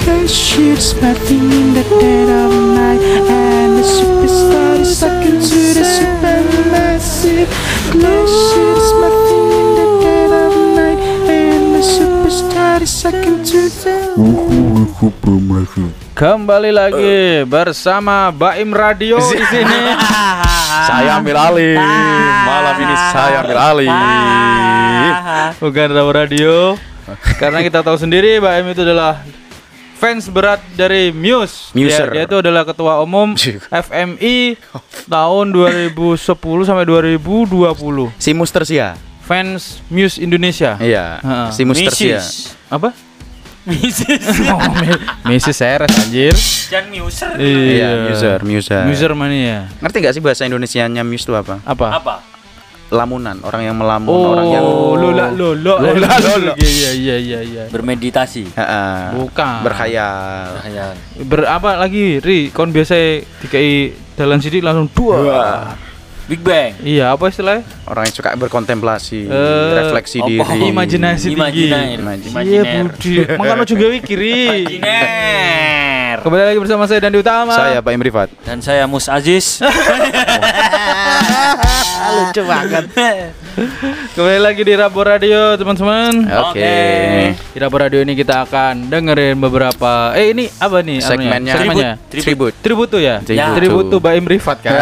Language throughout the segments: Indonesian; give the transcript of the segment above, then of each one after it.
That shit's nothing in the dead of night, and the superstar is sucking to the supermassive. That shit's nothing in the dead of night, and the superstar is sucking to the. Kembali lagi bersama Baim Radio di sini. Saya ambil alih. Malam ini saya ambil alih. Bukan Rabu Radio. Karena kita tahu sendiri Baim itu adalah fans berat dari Muse. Muser. Dia itu adalah ketua umum FMI tahun 2010 sampai 2020. Si Mustersia. Fans Muse Indonesia. Iya. Ha-ha. Si Mustersia. Apa? Misis. Mrs. Seres anjir. Jangan muser. Iya, Muser. Muser mania. Ngerti gak sih bahasa Indonesianya Muse itu apa? Apa? Lamunan, orang yang melamun, orang yang lola. Iya. Bermeditasi. Bukan. Berkhayal. Apa lagi, Ri? Kon biasa dikai dalan sidik langsung dua. Big Bang. Iya, apa istilahnya? Orang yang suka berkontemplasi, refleksi diri. Imajinasi tinggi. Iya, Budi. Makanya juga kiri. Imajiner. Kembali lagi bersama saya Dandi Utama. Saya Pak Imrifat. Dan saya Mus Aziz. Lucu banget. Kembali lagi di Rabu Radio, teman-teman. Oke. Di Rabu Radio ini kita akan dengerin beberapa. Ini apa nih? Segmennya. Tribute tuh ya. Ya. Tribute tuh Baim Rifat kan.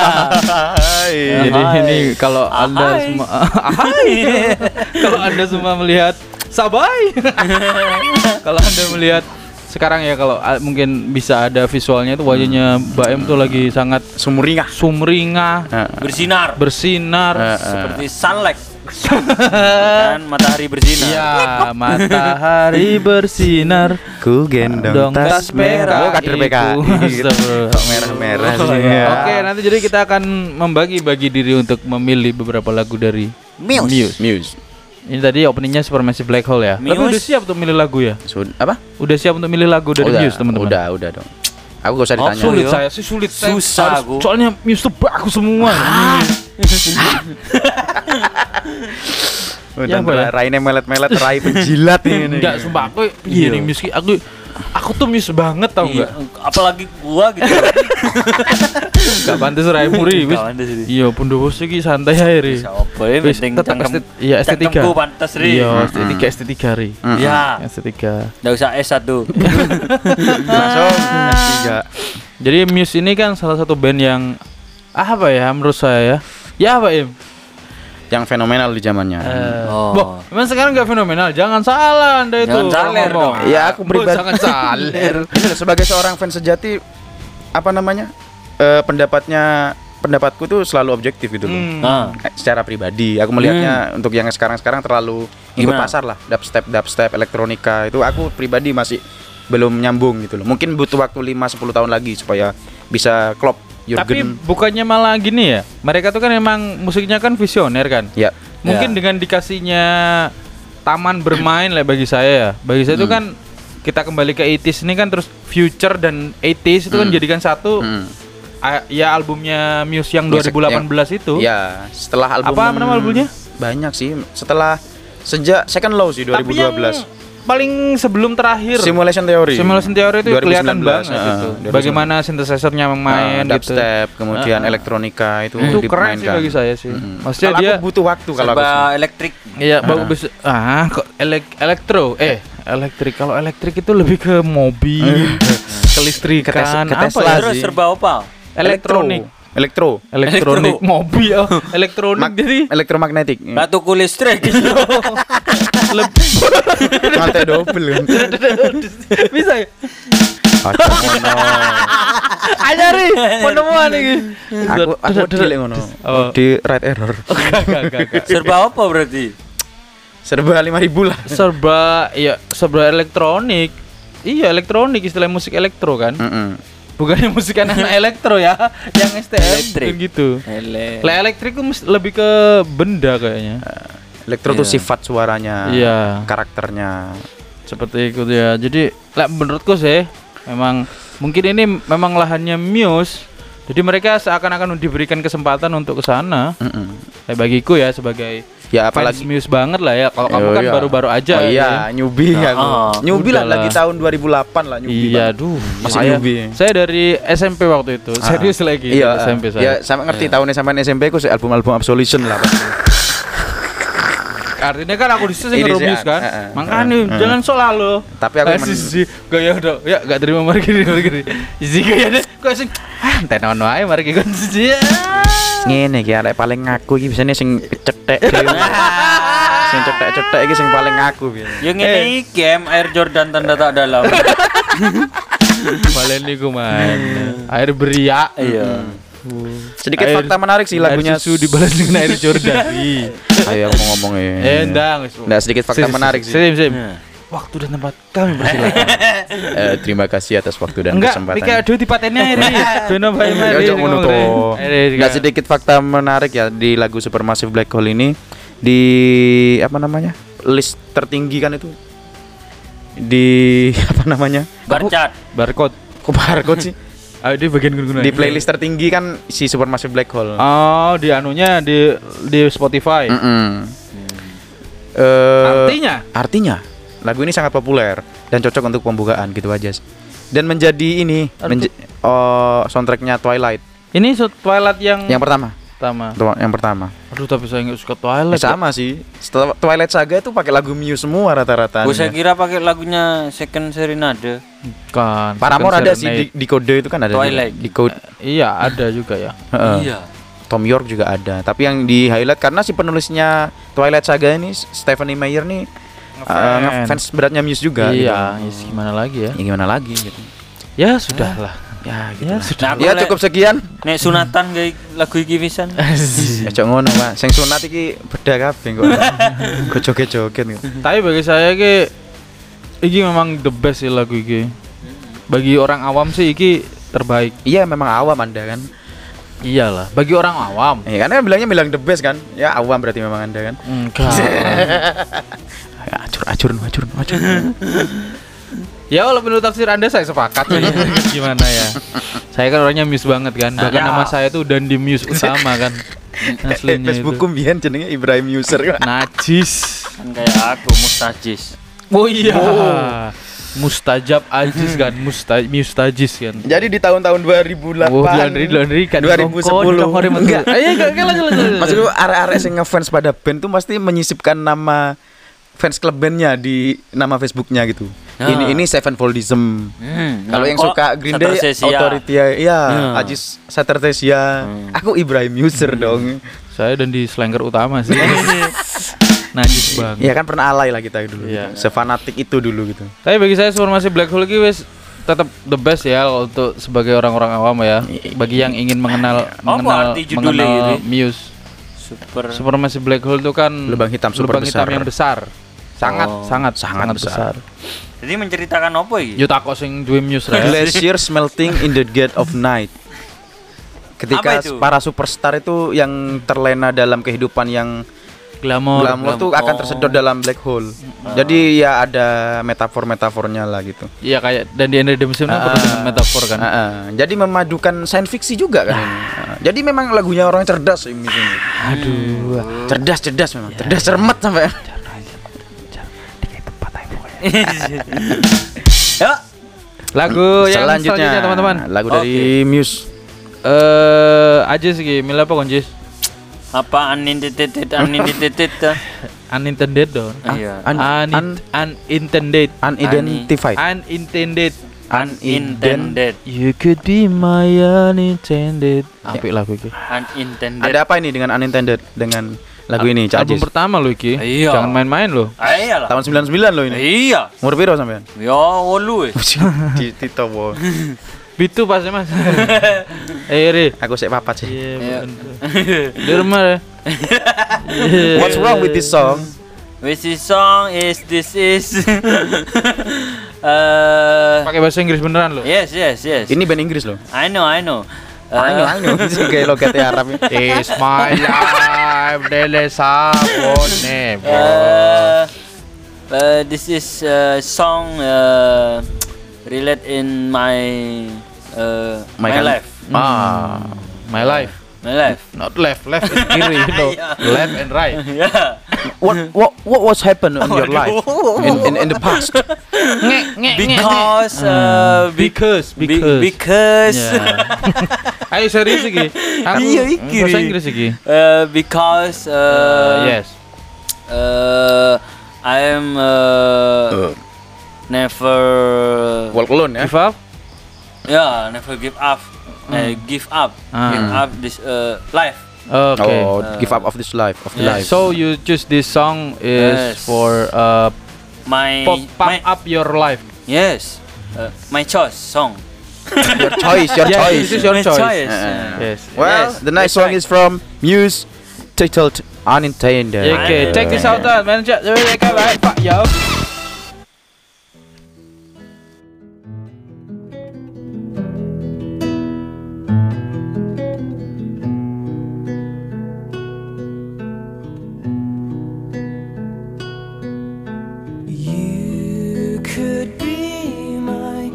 Jadi ini kalau Anda semua kalau Anda semua melihat Sabai. Kalau Anda melihat sekarang ya, kalau mungkin bisa ada visualnya itu wajahnya Baim tuh lagi sangat sumringah, bersinar seperti sunlight. Kan matahari bersinar. Iya, matahari bersinar. Ku gendong tas merah. Kader PK. Kok merah-merah sih. Oke, nanti jadi kita akan membagi-bagi diri untuk memilih beberapa lagu dari Muse. Ini tadi openingnya Supermassive Black Hole ya. Tapi udah siap untuk milih lagu ya? Apa? Udah siap untuk milih lagu dari Muse, teman-teman? Udah dong. Aku gak usah ditanya. Sulit. Susah aku. Soalnya Muse tuh bagus semua. Udah raine melet-melet, rai penjilat ini. Enggak, sumpah aku ini Muse aku tuh Muse banget tau enggak? Apalagi gua gitu. Enggak pantes rai muri wis. Iya, Pundowo iki santai ae ri. Penting cangkem. Iya, estetika. Cangkemku pantes ri. Iya, estetika ri. Iya. Estetika. Enggak usah S1. Langsung S3. Jadi Muse ini kan salah satu band yang apa ya menurut saya ya. Ya apa Im? Yang fenomenal di zamannya. Memang sekarang nggak fenomenal. Jangan salah Anda itu. Jangan saler dong. Ya aku pribadi. Jangan saler. Sebagai seorang fans sejati, apa namanya? Pendapatku tuh selalu objektif gitu loh. Secara pribadi, aku melihatnya untuk yang sekarang terlalu ikut pasar lah. Dubstep, elektronika itu aku pribadi masih belum nyambung gitu loh. Mungkin butuh waktu 5-10 tahun lagi supaya bisa klop. Tapi bukannya malah gini ya, mereka tuh kan emang musiknya kan visioner kan. Ya. Mungkin dengan dikasihnya taman bermain lah bagi saya ya. Bagi saya itu kan kita kembali ke 80s ini kan, terus future dan 80s itu kan jadikan satu. Ya albumnya Muse yang 2018 itu. Ya, setelah album. Apa nama albumnya? Banyak sih. Sejak Second Law sih 2012. Tapi yang paling sebelum terakhir Simulation Theory itu 2019, kelihatan banget gitu. Bagaimana synthesizer-nya main gitu. Dubstep, kemudian elektronika itu keren sih bagi saya sih. Maksudnya kalau dia aku butuh waktu kalau aku elektrik. Iya, bagus. Kok elektrik. Kalau elektrik itu lebih ke mobil, kelistrikan, ke apa ya? Terus serba opal. Elektronik, mobil, elektronik jadi elektromagnetik. Batuku listrik. Lantai double kan. Bisa ya? Ajari penemuan ini. Aku delek ngono. Di right error. Enggak. Serba apa berarti? Serba 5.000 lah. Serba elektronik. Iya, elektronik, istilah musik elektro kan. Bukannya musik anak elektro ya, yang STM gitu. Elektrik itu lebih ke benda kayaknya. Elektro tuh sifat suaranya, karakternya seperti itu ya. Jadi menurutku sih memang mungkin ini memang lahannya Muse. Jadi mereka seakan-akan diberikan kesempatan untuk ke sana. Bagiku ya sebagai Ya fans apalagi Muse banget lah ya. Kalau kamu kan iya. baru-baru aja. Oh iya, newbie aku. Newbie lah Udahlah. lagi tahun 2008 lah newbie. Iya, banget. duh. Masih saya, newbie. saya dari SMP waktu itu. Serius lagi Iya, dari SMP saya. Ya, sama ngerti tahunnya sampai SMP aku album-album Absolution lah. Artinya kan aku disitu Ini nge-Muse sih, kan. Makanya jangan sok lalu. Tapi aku sih gaya udah ya gak terima mari gini. Isi gayane kok sing tenan wae mari kon siji. Ngene iki arek paling ngaku iki bisane sing cetek dhewe. Sing cetek-cetek iki sing paling ngaku biyen. Yang ini game Air Jordan tanda tak dalam. Balen niku man. Air beria. Iya. Sedikit Air- fakta menarik sih lagunya. Air susu dibalas dengan air Jordan. Ayo aku ngomong ya. Endang wis. Nah, sedikit fakta menarik sih. Sim. Waktu dan tempat kami persilakan. Terima kasih atas waktu dan Enggak, kesempatan. iki aduh dipateni air. Beno bae mari. Ya, jangan ngono toh. Nggak sedikit fakta menarik ya di lagu Supermassive Black Hole ini di apa namanya list tertinggi kan itu di apa namanya Barcat. Barcode. kok barcode sih Ah, di bagian guna-guna. di playlist tertinggi kan si Supermassive Black Hole. Oh, di anunya di Spotify. Artinya lagu ini sangat populer dan cocok untuk pembukaan gitu aja sih. Dan menjadi ini soundtracknya Twilight ini Twilight yang pertama. Yang pertama. Aduh, tapi saya nggak suka Twilight. Sama sih. Setelah Twilight Saga itu pakai lagu Muse semua rata-rata. Gue saya kira pakai lagunya Second Serenade. Kan. Paramore ada sih di Code itu kan ada. Twilight. Di Code. Iya, ada juga ya. Iya. Tom York juga ada. Tapi yang di highlight karena si penulisnya Twilight Saga ini Stephenie Meyer nih ngefans beratnya Muse juga. Iya, gitu. gimana lagi ya? Ya gimana lagi gitu. Ya sudahlah. Ya gitu. Ya lah. sudah. Nah, Ya cukup sekian. Nek sunatan kayak lagu iki pisan. Ya cok ngono, Pak. Sing sunat iki beda kabeh kok. Kok joget-joget gitu. Tapi bagi saya iki memang the best sih lagu iki. Bagi orang awam sih iki terbaik. Iya memang awam Anda kan. Iyalah, bagi orang awam. Ya karena bilang the best kan. Ya awam berarti memang Anda kan. Enggak. Ya, acur. Ya kalau menurut tafsir Anda saya sepakat ya. Gimana ya? Saya kan orangnya Muse banget kan. Bahkan nama saya tuh dan di Muse utama kan. Aslinya itu. Facebookku biyen jenenge Ibrahim User kan. Najis. Kan kayak aku mustajis. Oh iya. Mustajab Ajis kan. Mustajis kan. Jadi di tahun-tahun 2008. Oh, laundry kan. 2010. Enggak. Ayo lanjut. Maksudku arek-arek sing ngefans pada band tuh pasti menyisipkan nama fans klub bandnya di nama Facebooknya gitu. Ini Sevenfoldism. Kalau yang suka Green Day Authority ya, Ajis Satertesia. Aku Ibrahim User dong. Saya dan di Slanger utama sih. Najis banget. Ya kan pernah alay lah kita dulu. Iya. Sefanatik itu dulu gitu. Tapi bagi saya Supermassive Black Hole ini wes tetap the best ya untuk sebagai orang-orang awam ya. Bagi yang ingin mengenal arti judulnya ini? Muse. Supermassive Black Hole itu kan lubang hitam super hitam besar. yang besar. Sangat besar. Jadi menceritakan apa iki? Yo takok sing duwe Muse ra. Glaciers melting in the gate of night. Ketika Apa itu? para superstar itu yang terlena dalam kehidupan yang Glamour tuh akan tersedot dalam black hole. Jadi ya ada metafornya lah gitu. Iya kayak dan di End Redemption kan penuh dengan metafor kan. Jadi memadukan science fiksi juga kan ini. Jadi memang lagunya orang cerdas ini. Aduh. Cerdas memang. Cerdas cermet sampai. Ya. Lagu yang selanjutnya teman-teman. Lagu dari Muse. Aja sih milih apa konjis? Apa unintended Unintended dong. Iya. Unintended. Unidentified. Unintended. You could be my unintended. Apik lagu iki. Unintended. Ada apa ini dengan unintended dengan lagu ini, Cak Album Ajis? pertama lo iki. Iya. Jangan main-main lo. Iyalah. Tahun 99 loh ini. Iya. Umur piro sampean? Ya 8 Tito wo. Bitu pas Mas. Ri. Aku sik papat sih. Iya. Di rumah ya. What's wrong with this song? Which song is this is? Pakai bahasa Inggris beneran lo. Yes. Ini band Inggris loh. I know. Ayo. Sih kayak logatnya Arab ya. It's my life, dele sabone. This is song relate in my My life. My life. My left. Not left is kiri, you know. Left and right. Yeah. What was happened in your life in the past? Because Because. Yeah. Ayo serius iki. Aku Iya, iki. bahasa Inggris iki. Because Yes. I am never Walk alone ya. Give up? never give up. Give up this life. Okay. Oh, give up of this life of the life. So you choose this song is Yes. for My pop up your life. yes, my choice song. your choice, your Yeah, choice. this is your My choice. Yes. Yes. Well, Yes, the next that's song right. is from Muse, titled Unintended. Okay, check this out, man. Check it out, Pak yo. You could be my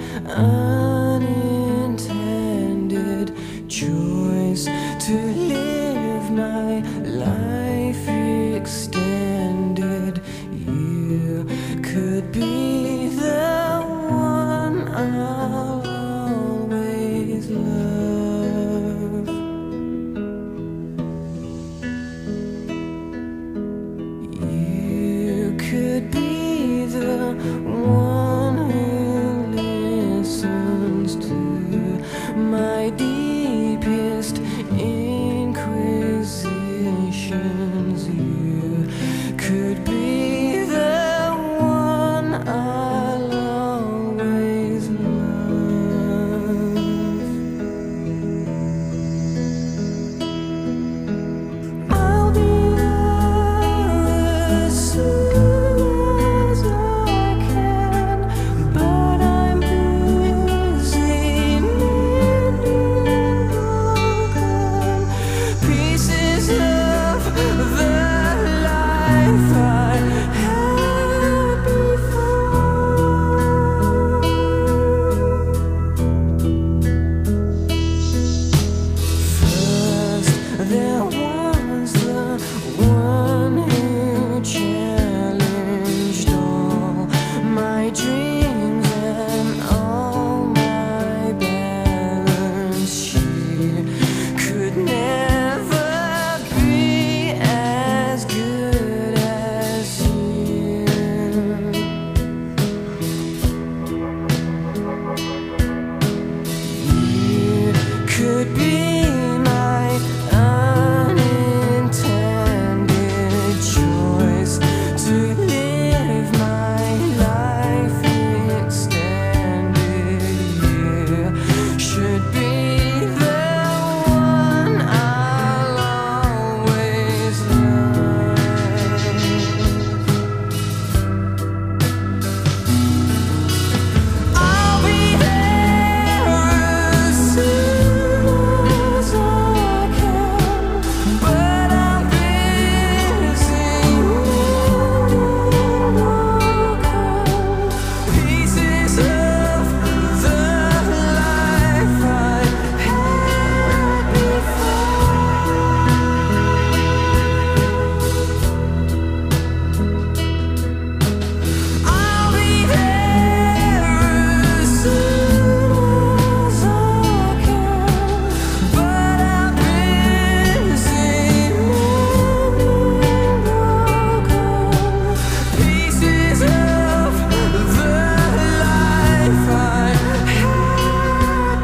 unintended choice to live my life extended. You could be the one I'll always love. You could be the one who listens to my deepest inquisitions. You could be the one I'll always love. I'll be there as soon as I can, but I'm busy mending broken pieces of the life I had First, there was the one who challenged all my dreams and all my balance. She could never be as good as you. You could be my unintended choice to live my life extended. You should be the one I'll always love. I'll be there as soon as I can, but I'm busy mending broken pieces of the life I had before. I'll be there as soon as I can, but I'm busy mending broken pieces of the life I had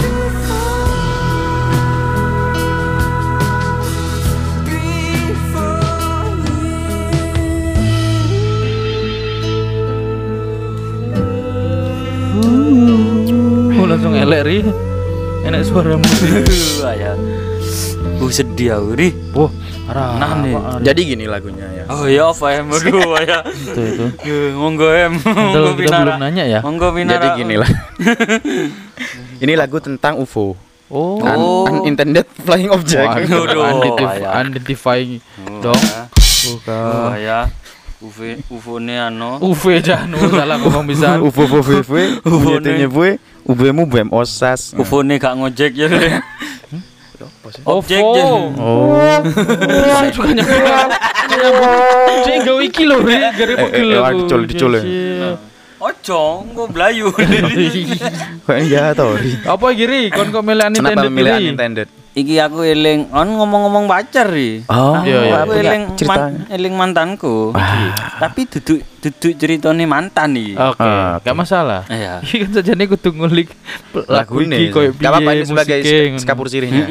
Oh, langsung elek ri. Enak suaramu. Ya. Sedih aku nih. Wah, parah nih. Jadi gini lagunya ya. Oh ya, apa ya? Aduh, ya. Itu. Monggo em. Padahal kita belum nanya ya. Monggo Jadi Pinara. gini lah. Ini lagu tentang UFO. Oh. Unintended flying object. Waduh. Unidentified dong. Bukan. Ya. UFO-ne ano. UV Janu salah ngomong bisa. UFO UFO UBM OSAS. UFO-ne gak ngojek ya. Apa sih? Objek OVO. Jen. Oh. Wah, juga nyambung. Cek gawe iki lho, Ri. Gare pegel aku. dicul ya. Ojo, engko blayu. Kok ya tau Ri. Apa iki, Ri? Kon kok milih Kenapa Nintendo memilih Ri? Nintendo? Iki aku eling ngomong-ngomong pacar ri. Oh, Iya, Aku punya eling ceritanya. eling mantanku. Tapi duduk ceritane mantan nih. Oke, Ah, gak masalah. Iya. Iki kan sajane kudu ngulik lagu Lagu iki ini. koyo Gak apa-apa ini sebagai musiknya, ngono. skapur sirihnya.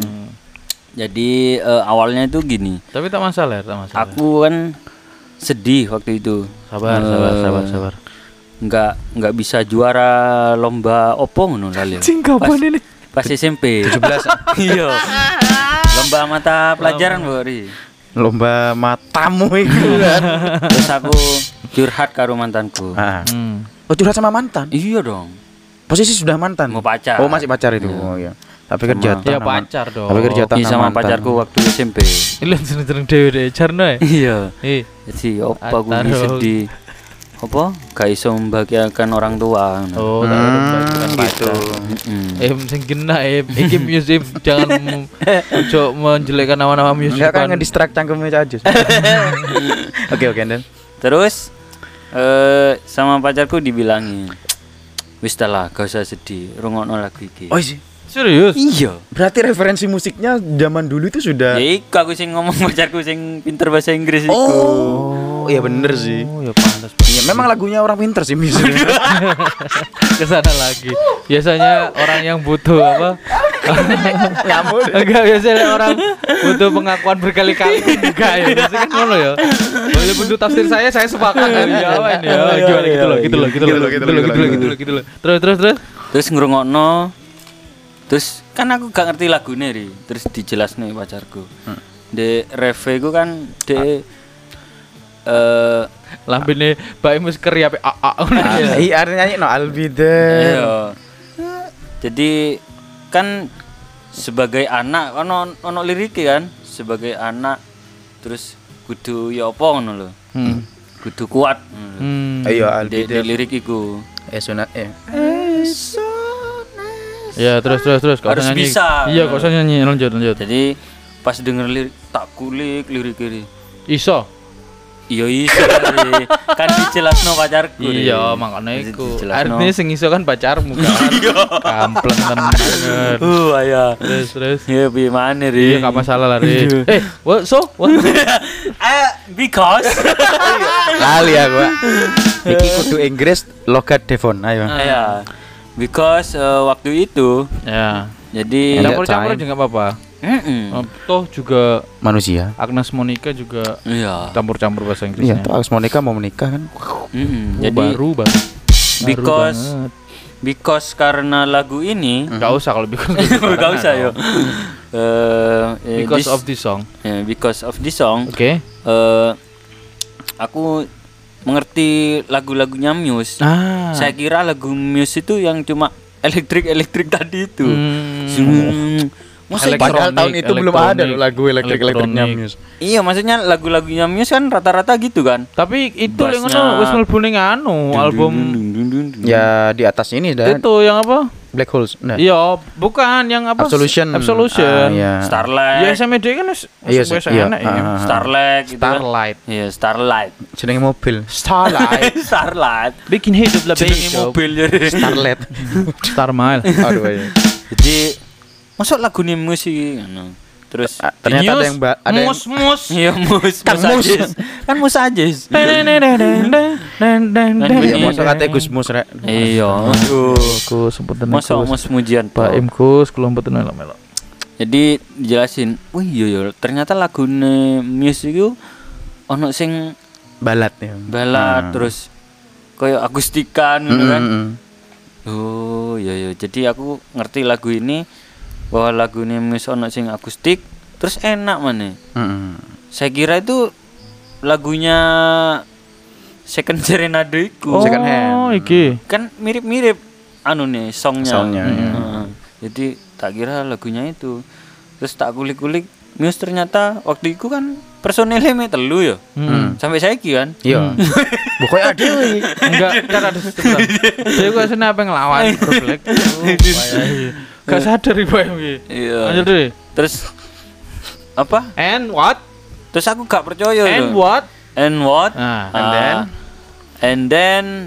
Jadi awalnya itu gini. Tapi tak masalah, tak masalah. Aku kan sedih waktu itu. Sabar. Nggak bisa juara lomba opo ngono lali. Cing kapan ini? Pas SMP. 17 Iya. Lomba mata pelajaran, Bu Ri. lomba matamu itu kan. Terus aku curhat karo mantanku. Ah. Hmm. Oh, curhat sama mantan. Iya dong. Posisi sudah mantan. Mau pacar. Oh, masih pacar itu. Oh iya. Tapi kerja Ya pacar dong. Tapi kerja Iya sama mantan. pacarku waktu SMP. Ini sering dewe deh, Jarno ya. Iya. Eh, Jadi opa aku Ataro. sedih. Apa? Gak iso membahagiakan orang tua. oh, tak ada baik bukan gitu. pacar. Mm-mm. Sing kena iki museum jangan ojo menjelekkan nama-nama museum. Enggak kan ngedistract cangkemnya aja. Oke, Dan. Terus sama pacarku dibilangin, wis dah lah, gak usah sedih, rungokno lagu iki. Oh, sih. Serius? Iya. Berarti referensi musiknya zaman dulu itu sudah. Ya iku aku sing ngomong pacarku sing pinter bahasa Inggris iku. Oh, iya bener sih. Oh, ya pantas. Iya, memang lagunya orang pinter sih musiknya. Kesana lagi. Biasanya orang yang butuh apa? Ngamuk. Enggak, biasanya orang butuh pengakuan berkali-kali. Enggak ya, biasanya kan ngono ya. Boleh bentuk tafsir saya sepakat dari Jawa ini ya. Gimana gitu loh. Terus. Terus ngrungokno. Terus kan aku gak ngerti lagune ri. Terus dijelasno pacarku. De reve ku kan de Lambene Mbak Mus keri ape Iya, artinya nyanyi no I'll be there. iya. Jadi kan sebagai anak ono liriknya kan, sebagai anak terus kudu ya apa ngono lho. Kudu kuat. Ayo I'll be Di there. lirik iku. Sunat Ya, terus. Kok Harus nyanyi? bisa. Iya, kok nyanyi. Lanjut. Jadi pas denger lirik tak kulik lirik ini. Iso. Iya iso kali. Kan dijelasno pacarku. Ri. Iya, makane iku. Dijelasno. Artinya sing iso kan pacarmu kan. Kampleng tenan. Aya. Terus. Ya piye maneh ri. Iya, gak masalah lah, Ri. What? Because lali aku. Pak. Iki kudu Inggris logat Devon. Ayo. ya. Because waktu itu Ya. jadi Campur-campur juga enggak apa-apa. Toh juga Manusia. Agnes Monica juga iya. campur-campur bahasa Iya, Inggrisnya. tuh Alex Monica mau menikah kan. Jadi baru. because because karena lagu ini Enggak usah kalau because. enggak usah yo. Because of this song. Because of this song Oke. aku mengerti lagu-lagunya Muse. Saya kira lagu Muse itu yang cuma elektrik tadi itu. Masa Padahal tahun itu belum ada loh lagu elektrik-elektriknya elektronik. Muse. iya maksudnya lagunya Muse kan rata-rata gitu kan. Tapi itu Bassnya. yang ngono wis mlebu ning anu album Ya di atas ini dah. itu yang apa? Black Holes. Nah. Iya, bukan yang apa? Absolution. Absolution. Iya. Starlight. Ya SMD kan wis Iya, wis iya. enak ya. Starlight gitu kan. Starlight. Iya, Starlight. Jenenge mobil. Starlight. Starlight. Bikin hidup lebih Jenenge mobil jadi. Starlet. Star Mile. Aduh iya. Jadi masuk lagu nih musik terus Ternyata ada yang ada yang mus. iya mus Kang Mus. kan mus aja Iya, masa kate Gus Mus rek. iya Aku sebut masuk mus mujian Pak Imkus kelompok melo. jadi dijelasin wih iya ternyata lagu nih musik itu ono sing Balat ya. balad terus koyo akustikan gitu kan Mm. oh iya jadi aku ngerti lagu ini bahwa lagu ini mus ono sing akustik terus enak mana Mm. saya kira itu lagunya Second Serenade iku. Second hand. Oh, iki. Kan mirip-mirip anu nih songnya. Songnya, iya. Jadi tak kira lagunya itu. Terus tak kulik-kulik Muse ternyata waktu itu kan personilnya me telu ya. Sampai saiki kan. Iya. Pokoknya ada wi. Enggak, kan ada sistem. Dia gua sini apa ngelawan Black. Gak sadar ibu yang Iya. Lanjut deh. Terus apa? And what? Terus aku gak percaya. And loh. what? And what? Nah, And then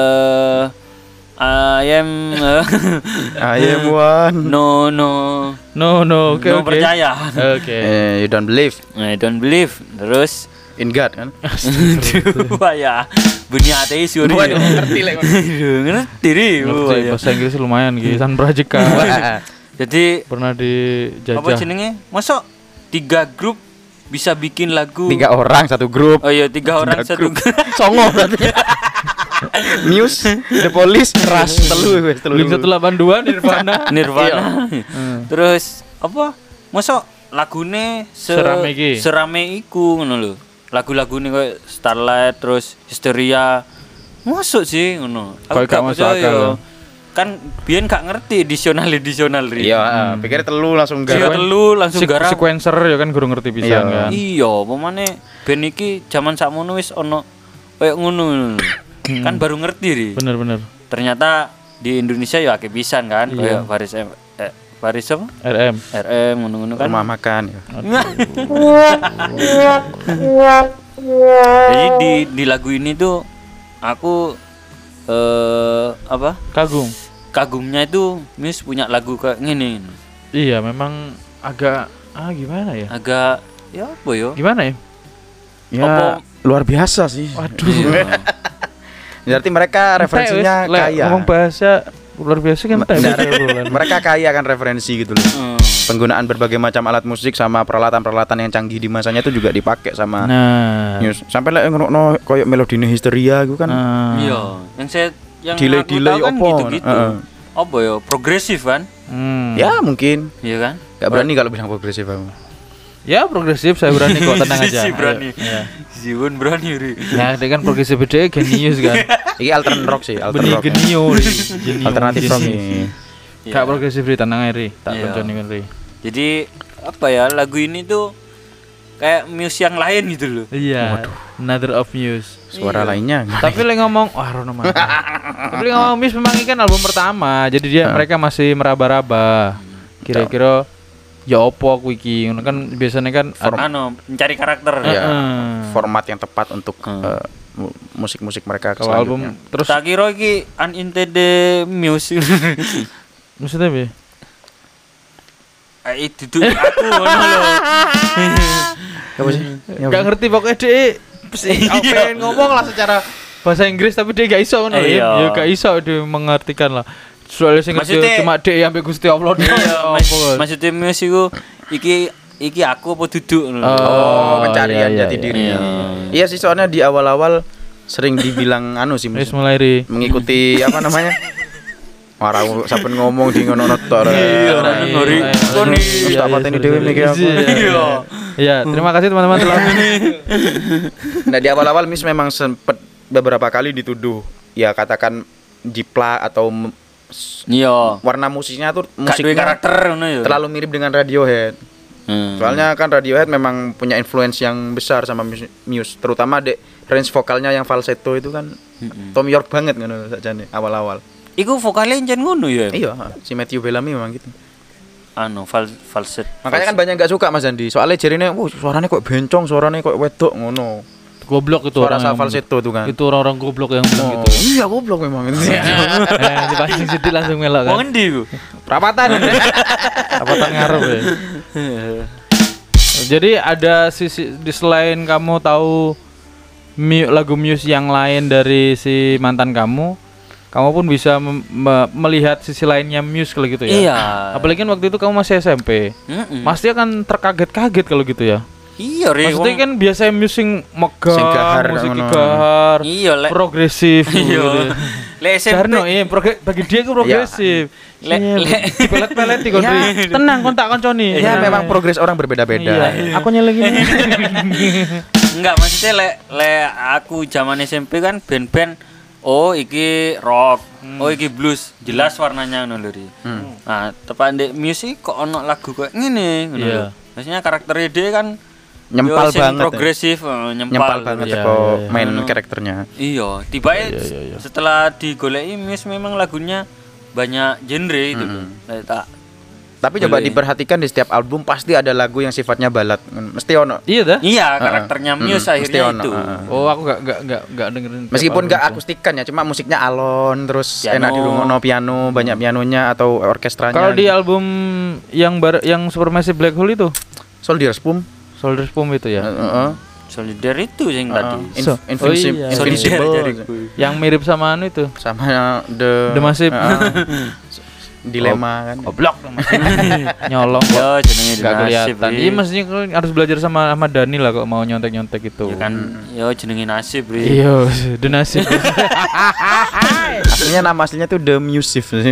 I am I am one. no Oke. percaya. Oke. You don't believe I don't believe. Terus in God kan? Wah ya, bunyi ateis yuri. Waduh, ngerti lah. Ngerti ri. Ngerti, bahasa Inggris lumayan gitu. San Brajeka. Jadi Pernah dijajah. apa jenenge? Masa 3 grup bisa bikin lagu? 3 orang satu grup. Oh iya, 3 orang satu grup. Songo berarti. Muse, The Police, Rush, telu. Link 182 Nirvana. Nirvana. Terus apa? Masa lagune Serame iki. serame iku ngono lho. Lagu-lagune koyo Starlight terus Hysteria. Masuk sih ngono. Koyo gak masuk percaya. akal. Kan biyen gak ngerti edisional ri. Iya, pikir telu langsung Iya garap. telu langsung garap. Sequencer ya kan guru ngerti pisan kan. Iya, pemane band iki jaman sakmono wis ono koyo ngono. Kan baru ngerti ri. Bener. Ternyata di Indonesia ya akeh pisan kan koyo Paris apa? RM ngono-ngono kan. Rumah makan ya. Jadi di lagu ini tuh aku apa? Kagumnya itu Muse punya lagu kayak gini. Iya, memang agak gimana ya? Agak ya apa ya? Gimana ya? Ya, Apa- luar biasa sih. Waduh. Berarti mereka referensinya Ente, wis, kaya. ngomong bahasa luar biasa kan ente, bulan. Mereka kaya kan referensi gitu loh. Penggunaan berbagai macam alat musik sama peralatan-peralatan yang canggih di masanya itu juga dipakai sama Nah. Muse. Sampai lek ngono koyo melodine Hysteria gitu kan. Iya, yang Delay- aku delay tahu kan apa? gitu-gitu. Apa ya? Progresif kan? Ya mungkin. Iya kan? Gak berani kalau bilang progresif aku. Ya progresif, saya berani kok, tenang aja. Si berani. Iya. Si Won berani ri. Ya, dia kan progresif beda genius kan. Ini altern rock sih, altern Benih rock. genio ri. Genio. Alternatif rock Genius. nih. Gak progresif ri, tenang aja ri. Tak Iya. konconi kan ri. Jadi apa ya? Lagu ini tuh kayak Muse yang lain gitu loh. Iya. Another of Muse. Suara lainnya. Tapi lek ngomong Rono mana. Tapi lek ngomong Muse memang ini kan album pertama. Jadi dia mereka masih meraba-raba. Kira-kira ya opo aku iki ngono kan biasanya kan Mencari karakter. Ya, format yang tepat untuk musik-musik mereka kalau album selanjutnya. terus Tak kira iki unintended Muse. maksudnya be Itu aku ngono lho. Apa sih? gak ngerti pokoknya dia pengen ngomong lah secara bahasa Inggris tapi dia gak iso ngono Iya. ya gak iso dia mengartikan lah soalnya sing ngerti Maksudnya- cuma dia sampai Gusti Allah doang. Maksudnya Muse iku iki aku apa duduk ngono. Oh, pencarian iya, jati iya. diri. Iya sih, soalnya di awal-awal sering dibilang sih Wis mulai ri mengikuti apa namanya? Orang saben ngomong di ngono tok. ngori. Koni. Terus tak pateni dhewe mikir aku. Iya, terima kasih teman-teman telah Nah, di awal-awal Miss memang sempat beberapa kali dituduh ya katakan jiplak atau Iya. warna musiknya tuh Gak duwe musiknya karakter ngono ya. terlalu mirip dengan Radiohead. Soalnya kan Radiohead memang punya influence yang besar sama Muse, terutama dek range vokalnya yang falsetto itu kan Tom York banget ngono sakjane awal-awal. Iku vokalnya jan ngono ya. Iya, si Matthew Bellamy memang gitu. Falset. Makanya kan banyak nggak suka Mas Andi. Soalnya jarine, suaranya kok bencong, suaranya kok wedok ngono. goblok itu Suara orang yang falsetto tuh kan. itu orang-orang goblok yang bilang gitu. Iya, goblok memang itu. Dipancing sedih langsung melok kan. Wong endi ku? Perapatan. Perapatan ngarep ya. Jadi ada sisi di selain kamu tahu lagu Muse yang lain dari si mantan kamu pun bisa melihat sisi lainnya Muse kalau gitu ya. Iya. Apalagi kan waktu itu kamu masih SMP. Pasti akan terkaget-kaget kalau gitu ya. Iya, Re. Maksudnya kan biasanya Muse sing megah, Sing gahar, musik ngono. gahar, Iya, Lek. progresif. Iya. Lek SMP. Karena bagi dia itu progresif. Lek. Dipelet-pelet di kontri. Tenang, kon tak konconi. Ya memang progres orang berbeda-beda. Iya. Aku nyeleng ini. Enggak, maksudnya lek aku zaman SMP kan band-band iki rock, iki blues, jelas warnanya ngono lho. Ri. Nah, tepan ndek musik kok ono lagu kayak ngene ngono Iya. lho. Maksudnya karakter dia kan Nyempal yo sing banget. progresif, Nyempal banget Iya, kok iya. main karakternya. Iya, tiba-tiba Iya. setelah digoleki Muse memang lagunya banyak genre itu loh. Kayak tak Tapi coba Boleh. diperhatikan di setiap album pasti ada lagu yang sifatnya balad. Mesti ono. Iya dah. Iya, karakternya Muse mesti akhirnya ono, itu. Oh, aku enggak dengerin. tiap Meskipun album nggak itu. akustikan ya, cuma musiknya alon, terus Piano. enak dirungokno piano, banyak pianonya atau orkestranya. Kalau di album yang Supermassive Black Hole itu, Soldier's Pum. Soldiers Pum itu ya. Solidar itu yang tadi. iya. Invincible Solidar Yang mirip sama anu itu. sama The Massive. Dilema kan. Goblok nyolong kok. Yo jenenge Enggak The kelihatan. Nasib, Iya, mestinya kalian harus belajar sama Ahmad Dhani lah kok mau nyontek-nyontek itu. Ya kan, yo jenenge nasib, Bri. Iya, The Nasib. Aslinya nama aslinya tuh The Music sih.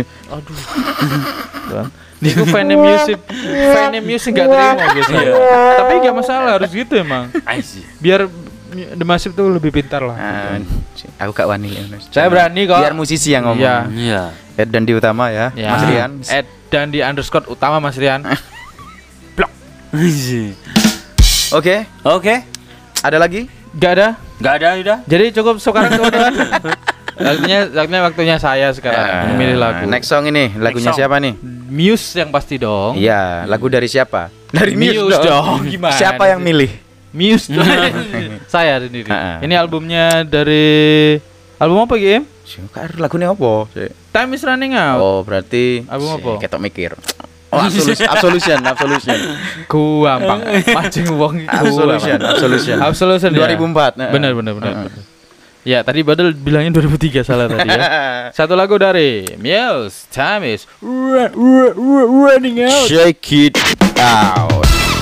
Niku fan music gak terima biasanya. Tapi gak masalah harus gitu emang. Aisy. Biar The Massive tuh lebih pintar lah. Aku gak wani. Saya berani kok. Biar musisi yang ngomong. Iya. Iya. Ed dan di utama ya, Ya. Mas Rian. Ed dan di underscore utama Mas Rian. Oke, Oke. ada lagi? Gak ada. Enggak ada udah. Jadi cukup sekarang teman-teman. Waktunya saya sekarang memilih lagu. Next song ini, lagunya song. siapa nih? Muse yang pasti dong. Iya, lagu dari siapa? Dari Muse dong. Gimana? Siapa yang milih? Muse dong. Saya sendiri. Ini albumnya dari album apa Game? Suka lagunya apa? Time is running out. Oh, berarti Album apa? Ketok mikir. Oh, Absolution. Gampang. Mancing wong itu. Absolution. 2004. Benar. Ya, tadi Badal bilangnya 2003 salah tadi ya. Satu lagu dari Muse, Time is running out. Shake it out.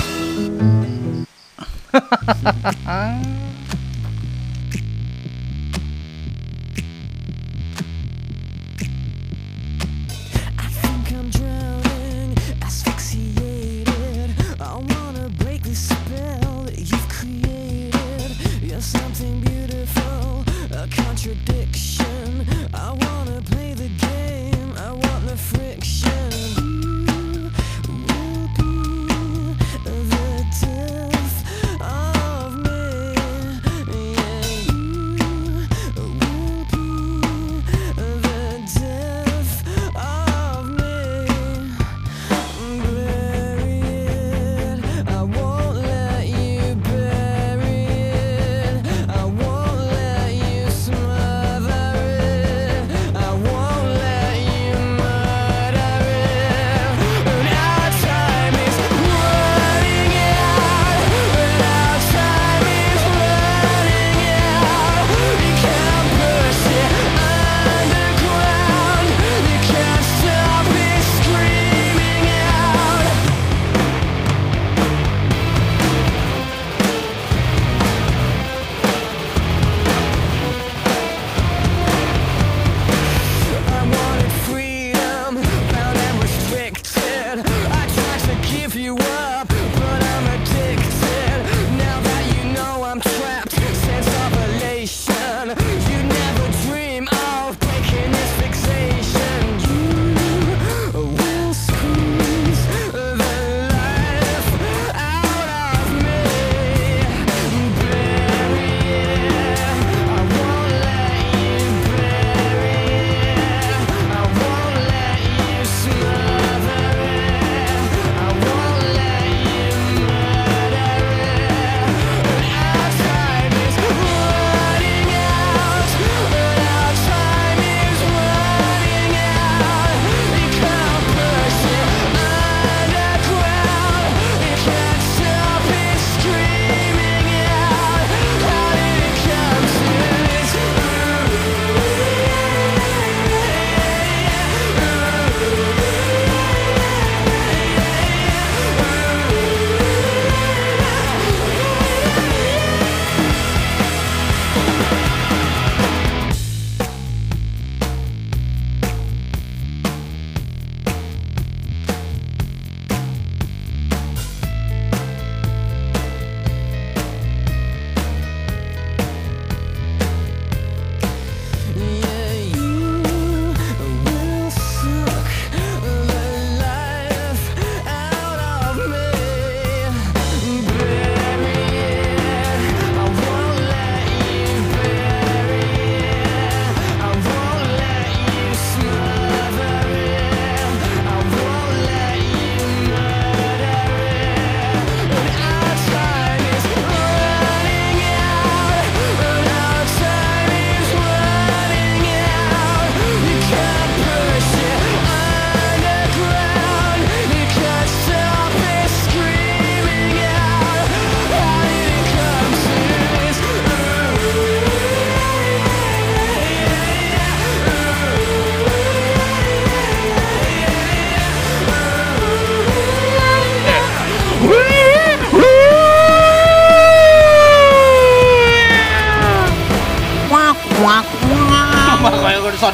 I think I'm drowning, asphyxiated. I wanna break the spell that you've created. You're something beautiful, a contradiction. I wanna play the game, I want the friction. You will be the death of me.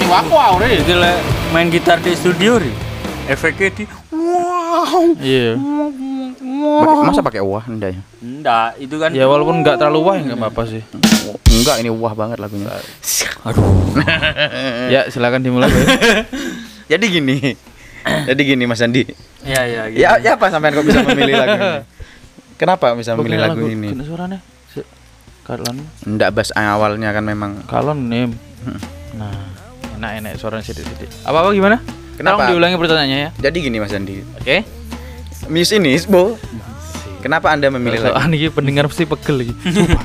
wow re. Itu lek main gitar di studio ri. Efeknya di Iya. Masa pakai wah enggak ya? enggak, itu kan Ya walaupun nggak terlalu wah nggak apa-apa sih. Enggak, ini wah banget lagunya. Ya silakan dimulai. Bay. Jadi gini. Jadi gini Mas Andi. ya gitu. Ya apa sampean kok bisa memilih lagu ini? Kenapa bisa memilih lagu ini? Kena suaranya. Kalon. Enggak bass awalnya kan memang. Kalon nim. Nah, enak suaranya sedikit. Apa gimana? Kenapa? Tolong diulangi pertanyaannya ya. Jadi gini Mas Andi. Oke. Muse ini, Bo. Kenapa Anda memilih lagu? Soalnya pendengar pasti pegel lagi.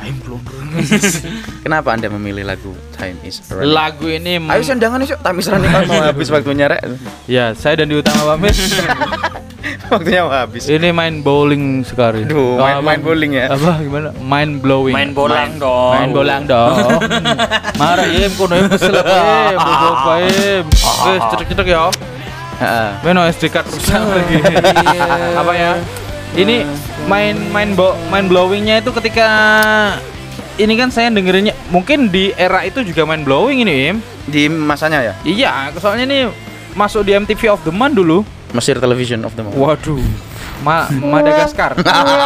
Kenapa Anda memilih lagu Time Is Running? Lagu ini Ayo sendangan nih, Time Is Running kan mau habis waktunya, Rek. ya, saya dan di utama pamit. Waktunya mau habis. Ini main bowling sekali. Duh, main bowling ya. Apa gimana? Mind blowing. Main bolang dong. Main bolang dong. Marah im kono im kesel im, bobo im. Wes cetek-cetek ya. Heeh. Meno SD card rusak lagi. Apa ya? Ini main blowingnya itu ketika ini kan saya dengerinnya mungkin di era itu juga main blowing ini im. Di masanya ya? Iya, soalnya ini masuk di MTV of the Month dulu. Mesir Television of the Month. Waduh. Madagaskar.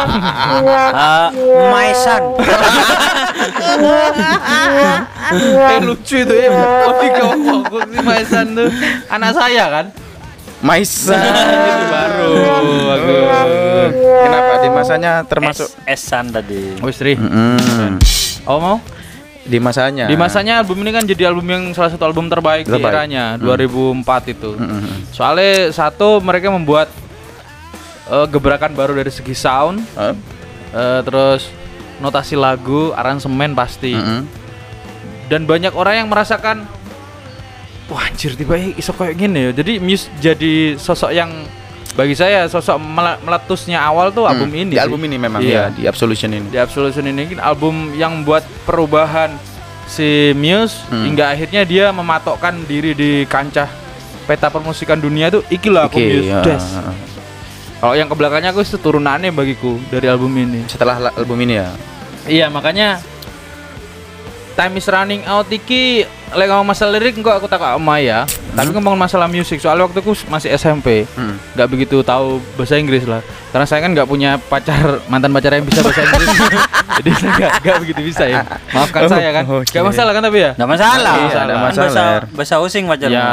My son. Lucu itu ya. Oh, digomong si Maisan tuh anak saya kan. Maisa. Itu baru. Bagus. Kenapa di masanya termasuk Esan tadi. Wis Ri. Mm-mm. Oh mau? Di masanya. Di masanya album ini kan jadi album yang salah satu album terbaik di Terbaik. eranya 2004 itu. Mm-mm. Soalnya satu mereka membuat gebrakan baru dari segi sound, terus notasi lagu, aransemen pasti. Mm-mm. Dan banyak orang yang merasakan wah anjir tiba-tiba iso kayak gini ya. Jadi Muse jadi sosok yang bagi saya sosok meletusnya awal tuh album ini. Di sih. album ini memang Iya. ya, di Absolution ini. Di Absolution ini kan album yang buat perubahan si Muse hingga akhirnya dia mematokkan diri di kancah peta permusikan dunia tuh ikilah aku Muse ya. Des. Kalau yang kebelakangnya aku itu turunannya bagiku dari album ini. Setelah album ini ya. Iya makanya Time Is Running Out iki lek ngomong masalah lirik kok aku tak sama ya. Tapi ngomong masalah musik soalnya waktu aku masih SMP. Nggak begitu tahu bahasa Inggris lah. Karena saya kan nggak punya mantan pacar yang bisa bahasa Inggris. Jadi saya nggak begitu bisa ya. Maafkan saya kan. Nggak masalah kan tapi ya? Nggak masalah. Iya, ada Kan masalah. bahasa using pacarmu. Ya.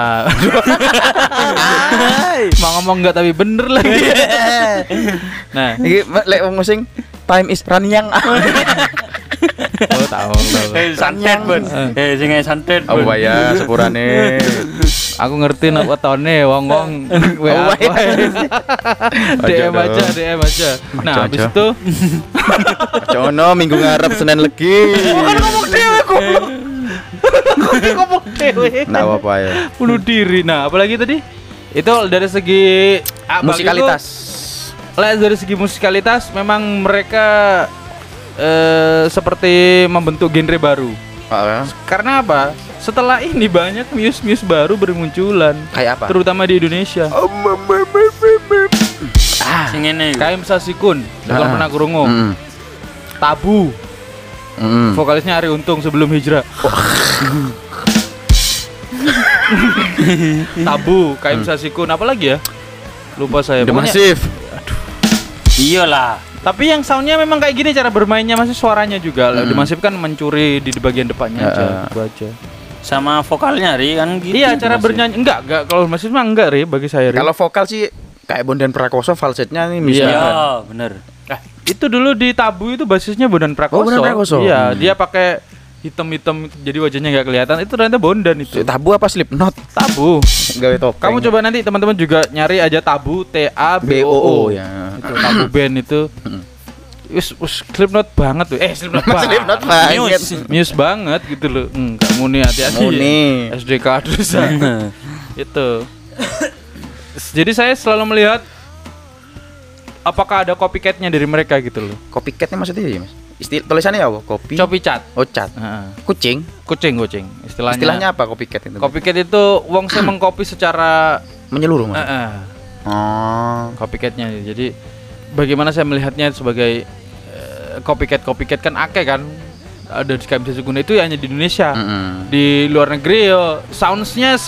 Mau ngomong nggak tapi bener lagi. Nah, Iki lek wong musing Time Is Running. tahu. Santet bun. Sing santet Oh bun. ya sepurane. Aku ngerti nak wetone wong-wong WA. DM aja. Nah, habis itu Cono minggu ngarep Senin Legi. ngomong dewe. Nggak apa-apa ya. Bunuh diri. Nah, apalagi tadi? Itu dari segi Musikalitas. Dari segi musikalitas memang mereka seperti membentuk genre baru. Karena apa? Setelah ini banyak Muse baru bermunculan. Kayak apa? Terutama di Indonesia. Sing ngene. Kaim Sasikun, jangan pernah krungu. Tabu, vokalisnya Ari Untung sebelum hijrah. Tabu, Kaim Sasikun, apa lagi ya? Lupa saya. The Pokoknya- Massive. Iyalah. Tapi yang soundnya memang kayak gini cara bermainnya masih suaranya juga. The Massive kan mencuri di bagian depannya aja, itu aja. Sama vokalnya Ri kan gitu. Iya, cara bernyanyi enggak kalau Massive mah enggak Ri bagi saya Ri. Kalau vokal sih kayak Bondan Prakoso, falsetnya nih Iya. misalnya. Iya, bener. Itu dulu di Tabu itu basisnya Bondan Prakoso. Oh, Bondan Prakoso. Iya, dia pakai hitam-hitam jadi wajahnya nggak kelihatan. Itu ternyata Bondan itu. Tabu apa Slipknot? Tabu. Gawe topeng. Kamu coba nanti teman-teman juga nyari aja Tabu TABOO ya. Itu Tabu band itu. Wis Slipknot banget tuh. Slipknot banget. Slipknot banget. Muse banget gitu loh. Enggak muni hati-hati. Muni. Ya. SDK terus. Itu. Jadi saya selalu melihat apakah ada copycatnya dari mereka gitu loh. Copycatnya maksudnya ya, Mas? Tulisannya apa? Kopi. Copy cat. Oh, cat. Heeh. Kucing. Kucing. Istilahnya apa copycat itu? Copycat itu wong saya mengcopy secara Menyeluruh, Mas. Oh. copycatnya. Jadi bagaimana saya melihatnya sebagai copycat kan akeh kan. ada di KMC Sukuna itu hanya di Indonesia. Mm-mm. Di luar negeri yo soundsnya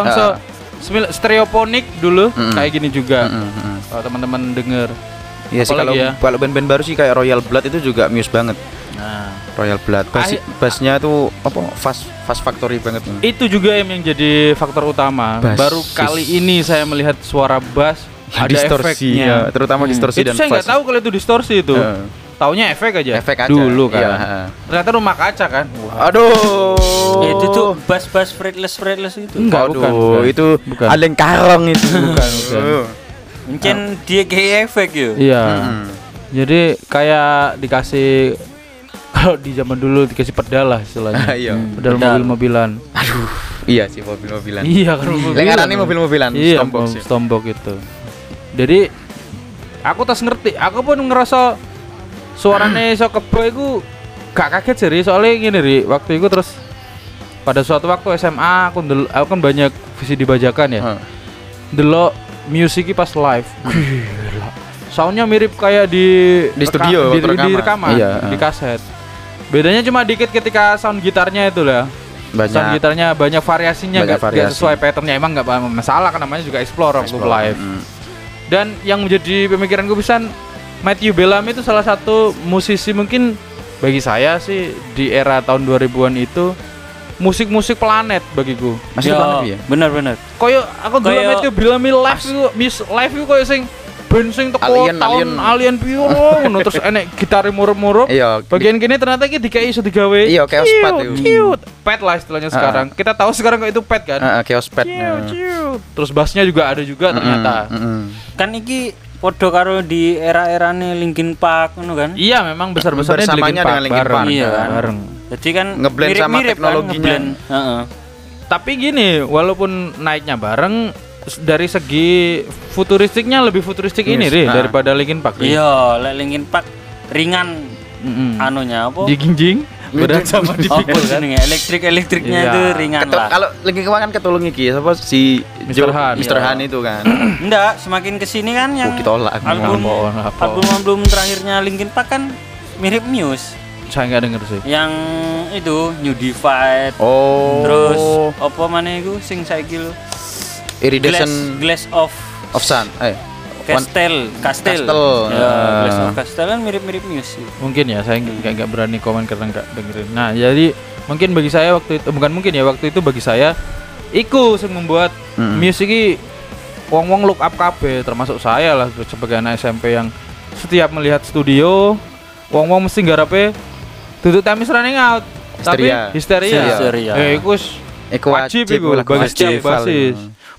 stereofonik dulu kayak gini juga. Kalau teman-teman denger. Iya sih, kalau Apalagi ya? kalau band-band baru sih kayak Royal Blood itu juga Muse banget. Nah, Royal Blood. Bassnya tuh apa? Fast Factory banget. itu juga yang jadi faktor utama. Bass. Baru kali ini saya melihat suara bass ada Distorsi, efeknya. ya, terutama distorsi Itu dan saya nggak fast. tahu kalau itu distorsi itu. Taunya efek aja. Efek aja. Dulu kan. Iya. Ternyata rumah kaca kan. Aduh. Itu tuh bass fretless itu. Enggak, Aduh, bukan. itu Bukan. aleng karong itu. Bukan. Mungkin dia kayak efek yo. Iya. Jadi kayak dikasih kalau di zaman dulu dikasih pedal lah istilahnya. Iya. Pedal mobil-mobilan. Aduh. Iya sih, mobil-mobilan. Iya kan mobil-mobilan. Lengarane mobil-mobilan. Iya, Stompbox ya. Stompbox itu. Jadi aku tas ngerti, aku pun ngerasa suarane iso kebo iku gak kaget sih, soalnya gini Ri, waktu itu terus pada suatu waktu SMA aku kan banyak visi dibajakan ya. Delok musik pas live. Gila. Soundnya mirip kayak di studio, di rekaman. rekaman, Iya. di kaset. Bedanya cuma dikit ketika sound gitarnya itu lah. Sound Banyak. gitarnya banyak variasinya, Banyak nggak variasi. sesuai patternnya, emang nggak masalah kan namanya juga explore waktu live. Dan yang menjadi pemikiranku pisan, Matthew Bellamy itu salah satu musisi mungkin bagi saya sih di era tahun 2000-an itu musik-musik planet bagiku. Masih planet ya? Bener. Koyo aku dulu Koyo- Matthew Bellamy live itu live itu koyo sing band sing teko tahun alien piro ngono terus enek gitare murup-murup. Iya. Bagian kini ternyata iki dikai iso digawe. Iya, chaos pad itu. Cute. Pad lah istilahnya sekarang. Kita tahu sekarang kok itu pad kan. Chaos pad. Cute. Terus bassnya juga ada juga ternyata. Kan iki podo karo di era-erane Linkin Park ngono kan. Iya, memang besar-besarnya Bersamanya dengan Linkin bareng. Park. Iya kan? Bareng. Jadi kan Ngeblend sama mirip-mirip teknologinya. Kan, ngeblend. Heeh. Tapi gini, walaupun naiknya bareng dari segi futuristiknya lebih futuristik ini Ri, daripada Linkin Park. Ri. Iya, lek Linkin Park ringan anunya apa? Jinjing berat sama Apa dipikul kan. jenenge? Elektriknya Iya. itu ringan lah. Kalau Linkin Park kan ketulung iki siapa si Mr. Han. Mr. Han itu kan. Enggak, semakin kesini kan yang Ditolak. album terakhirnya Linkin Park kan mirip Muse. Saya nggak denger sih. Yang itu New Divide. Oh. Terus apa maneh iku sing saiki lho? Iridescent Glass of Sun. Castle. Castle. Ya, Glass of Castle kan mirip-mirip Muse. Mungkin ya, saya nggak berani komen karena nggak dengerin. Nah, jadi mungkin bagi saya waktu itu waktu itu bagi saya iku sing membuat musik iki wong-wong look up kabeh, termasuk saya lah sebagai anak SMP yang setiap melihat studio wong-wong mesti nggarepe duduk Time is Running Out. Tapi histeria. Iku wajib iku bagi setiap basis.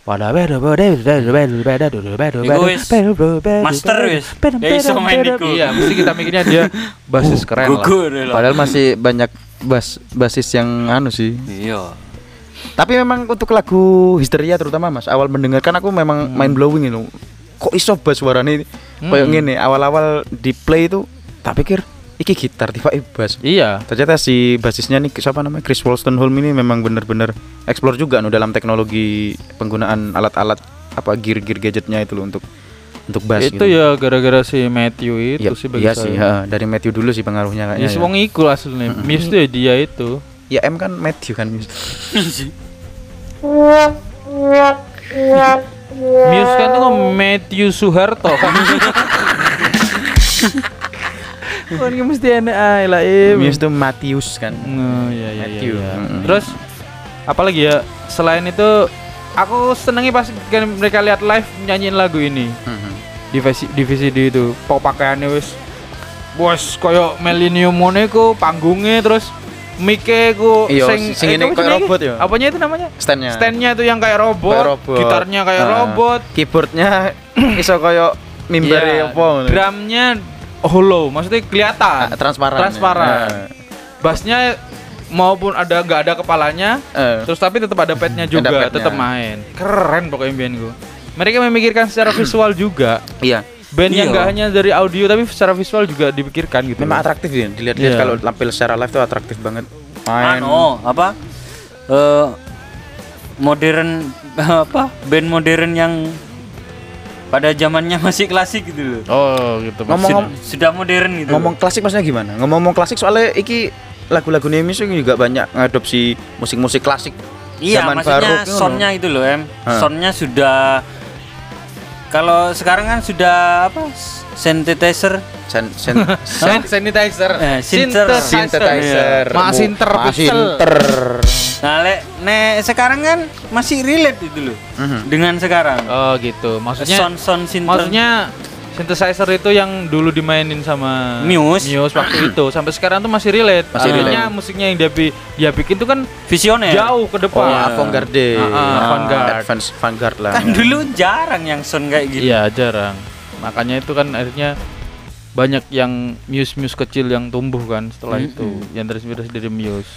Master wis. Ya iso main iku. Iya, mesti kita mikirnya dia basis keren lah. Gugur lah. Padahal masih banyak basis yang anu sih. Iya. Tapi memang untuk lagu Histeria terutama Mas, awal mendengarkan aku memang mind blowing itu. Kok iso bass suarane kayak ngene, awal-awal di play itu tak pikir iki gitar tiba-tiba bass. Iya. Ternyata si basisnya nih siapa namanya Chris Wolstenholme ini memang benar-benar explore juga dalam teknologi penggunaan alat-alat apa gear gadgetnya itu loh untuk bass itu gitu. ya gara-gara si Matthew itu Ya, sih bagi iya saya. sih, dari Matthew dulu sih pengaruhnya kayaknya. Ya, si wong iku aslinya. Muse tuh ya dia itu. Ya M kan Matthew kan. Muse kan tuh Matthew Soeharto kan. Kan mesti enak ae lah Muse tuh Matthews kan. Iya. Matthew. Terus apalagi ya selain itu aku senengi pas kan mereka lihat live nyanyiin lagu ini. Di VCD itu pakaiannya wis koyo Millennium Mone ku panggungnya terus mic-e ku sing ini kayak robot ya. Apanya itu namanya? Stand-nya itu yang kayak robot. Gitarnya kayak robot. Keyboardnya iso kayak mimbere apa. Drumnya hollow, maksudnya kelihatan. Transparan. Bassnya maupun nggak ada kepalanya, terus tapi tetap ada padnya juga, tetap main. Keren pokoknya band gue. Mereka memikirkan secara visual juga. Iya. Band yang nggak hanya dari audio tapi secara visual juga dipikirkan gitu. Memang atraktif ya, dilihat-lihat kalau tampil secara live tuh atraktif banget. Modern band modern yang pada zamannya masih klasik gitu loh. Oh, gitu. Ngomong Sudah modern gitu. Ngomong klasik maksudnya gimana? Ngomong klasik soalnya iki lagu-lagu Nemis juga banyak ngadopsi musik-musik klasik. Iya, zaman maksudnya barok itu soundnya itu loh soundnya sudah, kalau sekarang kan sudah apa, synthesizer, sanitizer, synthesizer, Masinter. nah sekarang kan masih relate itu loh dengan sekarang. Oh gitu, maksudnya sound maksudnya synthesizer itu yang dulu dimainin sama Muse waktu itu sampai sekarang tuh masih relate. Artinya musiknya yang dia bikin tuh kan visioner, jauh ke depan. avant-garde. Avant-garde lah. Kan dulu jarang yang sound kayak gitu. Iya, jarang. Makanya itu kan akhirnya banyak yang Muse kecil yang tumbuh kan setelah itu, yang terinspirasi dari Muse.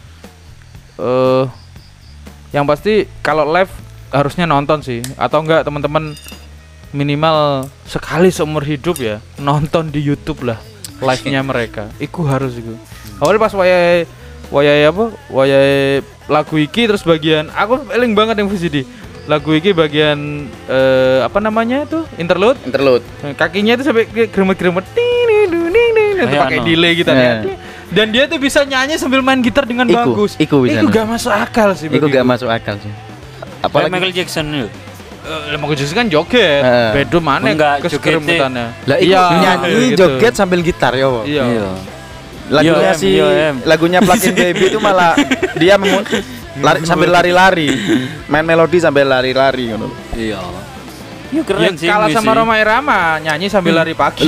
Yang pasti kalau live harusnya nonton sih, atau enggak teman-teman minimal sekali seumur hidup ya nonton di YouTube lah live-nya mereka. Iku harus iku. Awalnya pas wayai lagu iki terus bagian aku eling banget yang VCD. Lagu iki bagian apa namanya itu? Interlude. Kakinya itu sampai gremet-gremet itu pakai delay gitu ya. Dan dia tuh bisa nyanyi sambil main gitar dengan bagus. Iku gak masuk akal sih. Iku gak masuk akal sih. Apalagi Michael Jackson itu. Michael Jackson kan joget, bedo mana keseremutannya. Lah iya, nyanyi gitu. Joget sambil gitar ya. Iya. Lagunya Plug-in Baby itu malah dia sambil lari-lari, main melodi sambil lari-lari ngono. Iya. Iya keren sih. Kalah sama Roma Irama nyanyi sambil lari pagi.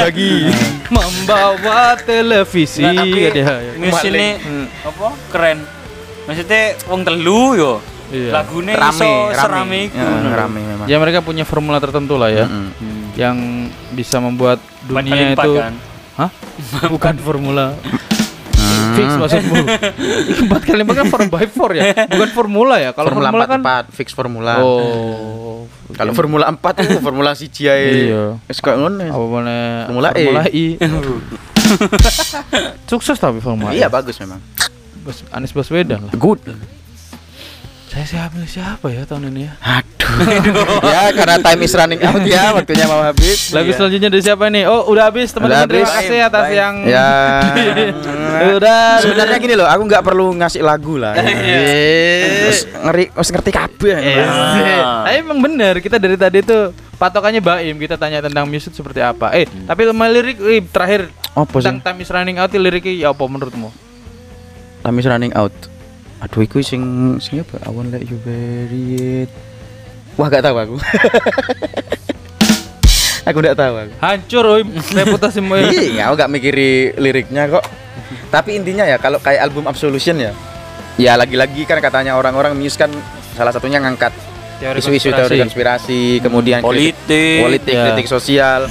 Membawa televisi. Mus ini apa? Keren. Maksudnya wong telu yo. Iya. Lagunya iso serame iku. Rame memang. Ya mereka punya formula tertentu lah ya. Yang bisa membuat dunia itu kan? Hah? Bukan formula. Fix maksudmu. 4x4 kan 4x4 ya. Bukan formula ya. Kalau formula kan 4 fix formula. Oh. Kalau formula 4 itu formula siji ae. Iya. Wis koyo ngono. Apa meneh? Formula I. Sukses tapi formula. Iya bagus memang. Anies Baswedan lah. Good. Saya siapa ya tahun ini ya? Aduh. Ya karena time is running out ya, waktunya mau habis. Lagu selanjutnya dari siapa nih? Oh, udah habis teman-teman. Terima kasih atas yang ya. Udah. Sebenarnya gini loh, aku nggak perlu ngasih lagu lah. Terus ngerti kabeh. Tapi emang bener, kita dari tadi tuh patokannya Baim, kita tanya tentang musik seperti apa. Tapi lirik terakhir tentang Time is Running Out, liriknya apa menurutmu? Time is Running Out. Aduh, iku sing apa? I won't let you bury it. Wah, gak tahu aku. Aku gak tahu aku. Hancur reputasimu. Iya, aku gak mikiri liriknya kok. Tapi intinya ya kalau kayak album Absolution ya. Ya lagi-lagi kan katanya orang-orang Muse kan salah satunya ngangkat isu-isu teori konspirasi, kemudian kritik sosial.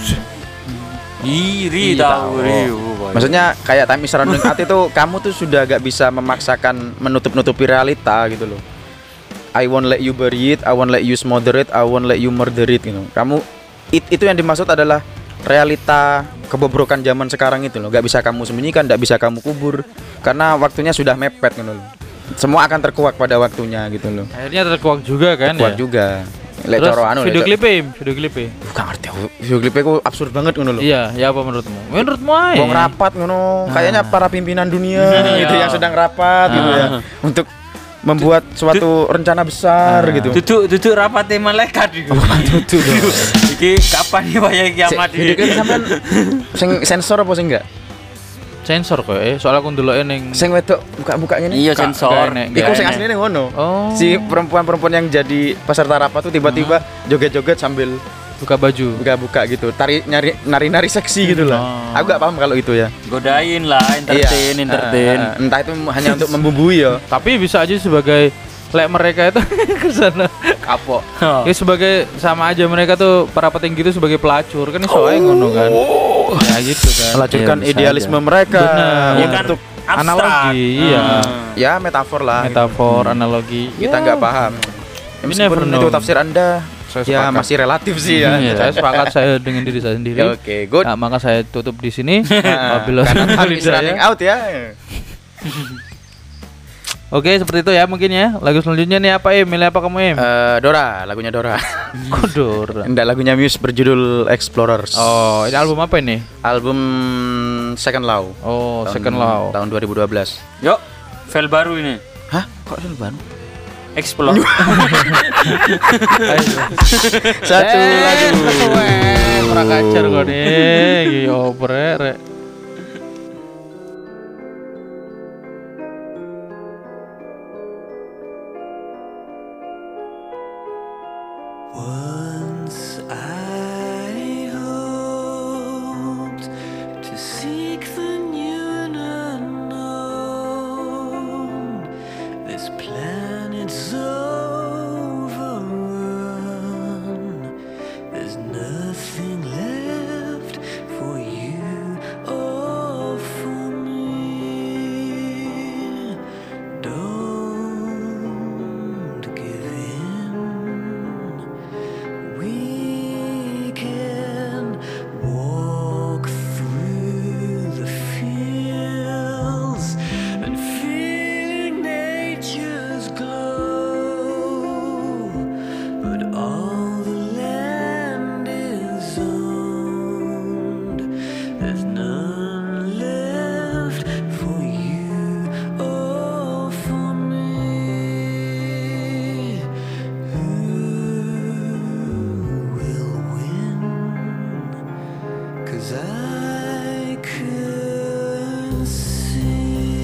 Iri tahu. Maksudnya kayak Time is Running Out itu kamu tuh sudah gak bisa memaksakan menutup-nutupi realita gitu loh. I won't let you bury it, I won't let you smother it, I won't let you murder it gitu. Kamu itu yang dimaksud adalah realita kebobrokan zaman sekarang itu loh. Gak bisa kamu sembunyikan, gak bisa kamu kubur karena waktunya sudah mepet gitu loh. Semua akan terkuak pada waktunya gitu loh. Akhirnya terkuak juga kan. Terkuak juga. Terus video klipnya bukan ngerti aku. Video klipnya kok absurd banget ngono lho. Iya, ya apa menurutmu? Menurutmu aja. Wong rapat ngono, kayaknya para pimpinan dunia gitu yang sedang rapat gitu ya. Untuk membuat suatu rencana besar gitu. Duduk rapate malaikat iku. Duduk dong. Iki kapan ya wayah kiamat iki? Video klip sampean sing sensor apa sing enggak? Sensor kok soalnya aku ndeloke ning sing wedok buka-buka ngene. Iya sensor. Iku sing asline ngono. Oh. Si perempuan-perempuan yang jadi peserta rapat tuh tiba-tiba joget-joget sambil buka baju, buka-buka gitu, nari-nari seksi gitu lah. Aku gak paham kalau itu ya. Godain lah, entertain. Entah itu hanya untuk membumbui ya. Tapi bisa aja sebagai mereka itu kesana kapok. Ya sebagai sama aja mereka tuh para petinggi itu sebagai pelacur kan soalnya ngono kan. Ya gitu kan. Melacurkan idealisme mereka. Benar. Ya kan untuk analogi, iya. Ya metafor lah. Metafor, analogi. Kita nggak paham. Meskipun itu tafsir Anda. Ya masih relatif sih ya. Saya sepakat saya dengan diri saya sendiri. Oke, good. Nah, maka saya tutup di sini. Karena habis running out ya. Oke, seperti itu ya mungkin ya. Lagu selanjutnya nih apa milih apa kamu Dora, lagunya Dora. Kok Dora? Enggak, lagunya Muse berjudul Explorers. Oh, ini album apa ini? Album Second Law. Oh, Second Law. Tahun 2012. Yuk, file baru ini. Hah? Kok film baru? Explore. Satu lagu. Ora kacar kok nih. Yo brek. Once I hoped to seek the new and unknown. This planet's overrun. There's nothing left for you or for me. Don't give in. We can walk through the fields and feel nature's glow, but all the land is owned. There's none left for you or for me. Who will win? 'Cause I could see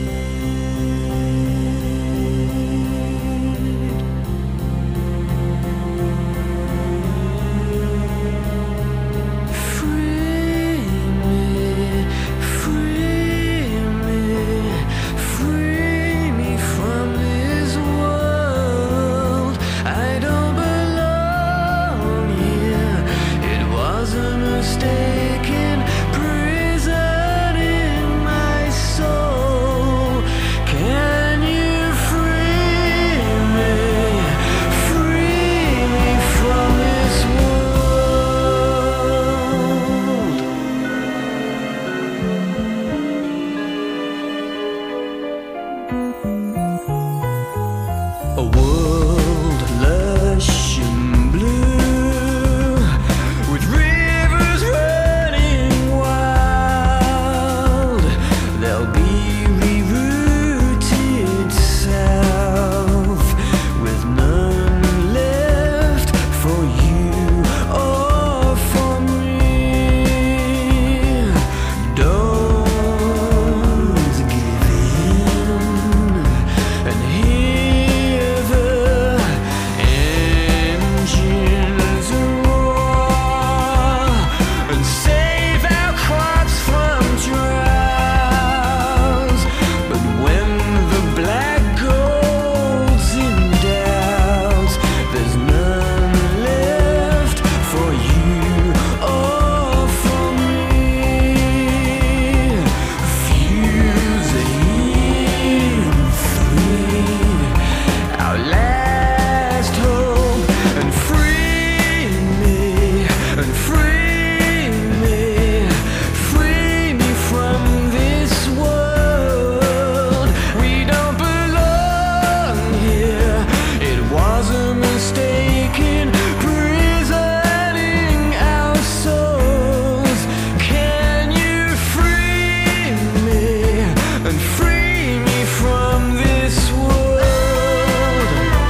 free me, free me, free me from this world. I don't belong here. It was a mistaken prison in my soul. Can you free me from this world? A world lush and blue, with rivers running wild. They'll be rerouted south, with none left for you or for me. Don't give in and hear the engines roar, and save our crops from droughts. But when the black gold's in doubt, there's none left for you or for me. Fuse the heat free, our last hope, and free me, and free me, free me from this world. We don't belong here. It was a mistaken prisoning our souls. Can you free me and free me from this world?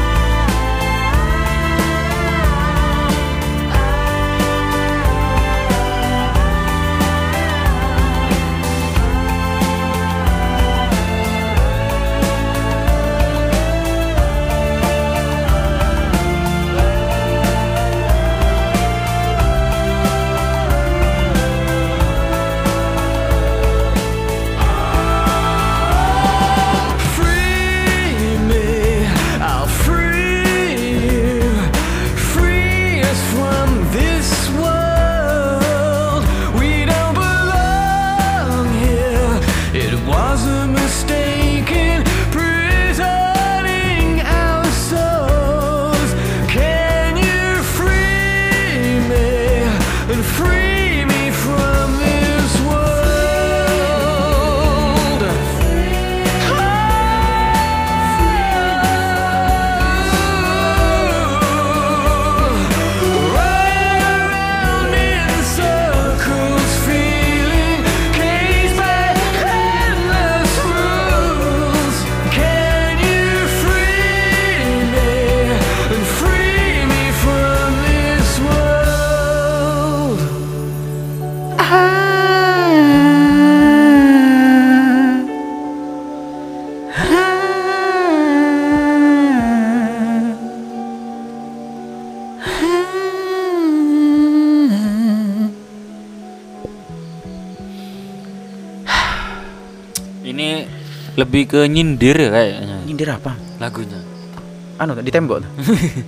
Free me, I'll free you, free us from this world. We don't belong here. It was a mistaken prisoning our souls. Can you free me and free me from this world? Round in circles, feeling caged by lebih ke nyindir ya kayaknya Nyindir apa? lagunya. Anu di tembok tuh.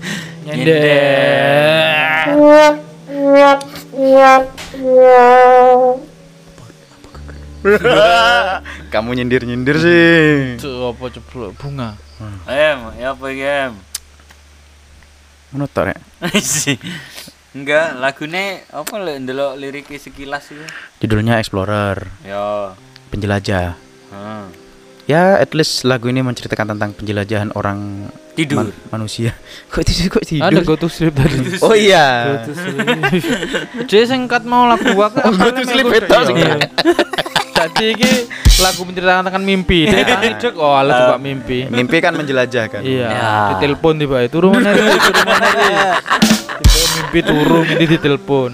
Kamu nyindir-nyindir sih. Itu apa ceplok bunga. Ya apa ya? Ngono tok rek. Enggak, lagunya apa lek ndelok liriknya sekilas itu. Judulnya Explorer, Ya. penjelajah. Heeh. Ya, at least lagu ini menceritakan tentang penjelajahan orang Tidur. manusia. Kok tidur? Ada Go to Sleep tadi. Oh iya. Jadi singkat mau lagu aku. Go to Sleep itu sih. Jadi ini lagu menceritakan tentang mimpi. Dia tangi cek oh ala coba mimpi. Mimpi kan menjelajah kan. Iya. Ya. Ditelepon tiba itu rumah nari, turun nari. Tiba mimpi turun ini ditelepon.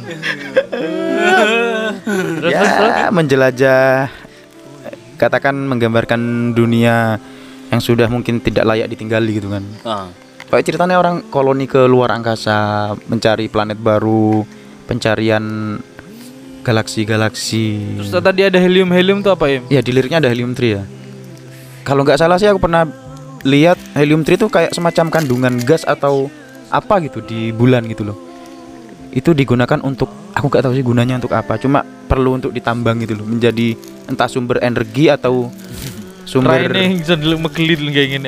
Terus Ya, menjelajah, katakan menggambarkan dunia yang sudah mungkin tidak layak ditinggali gitu kan. Kayak ceritanya orang koloni ke luar angkasa, mencari planet baru, pencarian galaksi-galaksi. Terus tadi ada helium tuh apa ya? Ya, di liriknya ada helium 3 ya. Kalau nggak salah sih aku pernah lihat helium 3 itu kayak semacam kandungan gas atau apa gitu di bulan gitu loh. Itu digunakan untuk, aku nggak tahu sih gunanya untuk apa, cuma perlu untuk ditambang gitu loh, menjadi entah sumber energi atau sumber Raine bisa dulu megelin kayak gini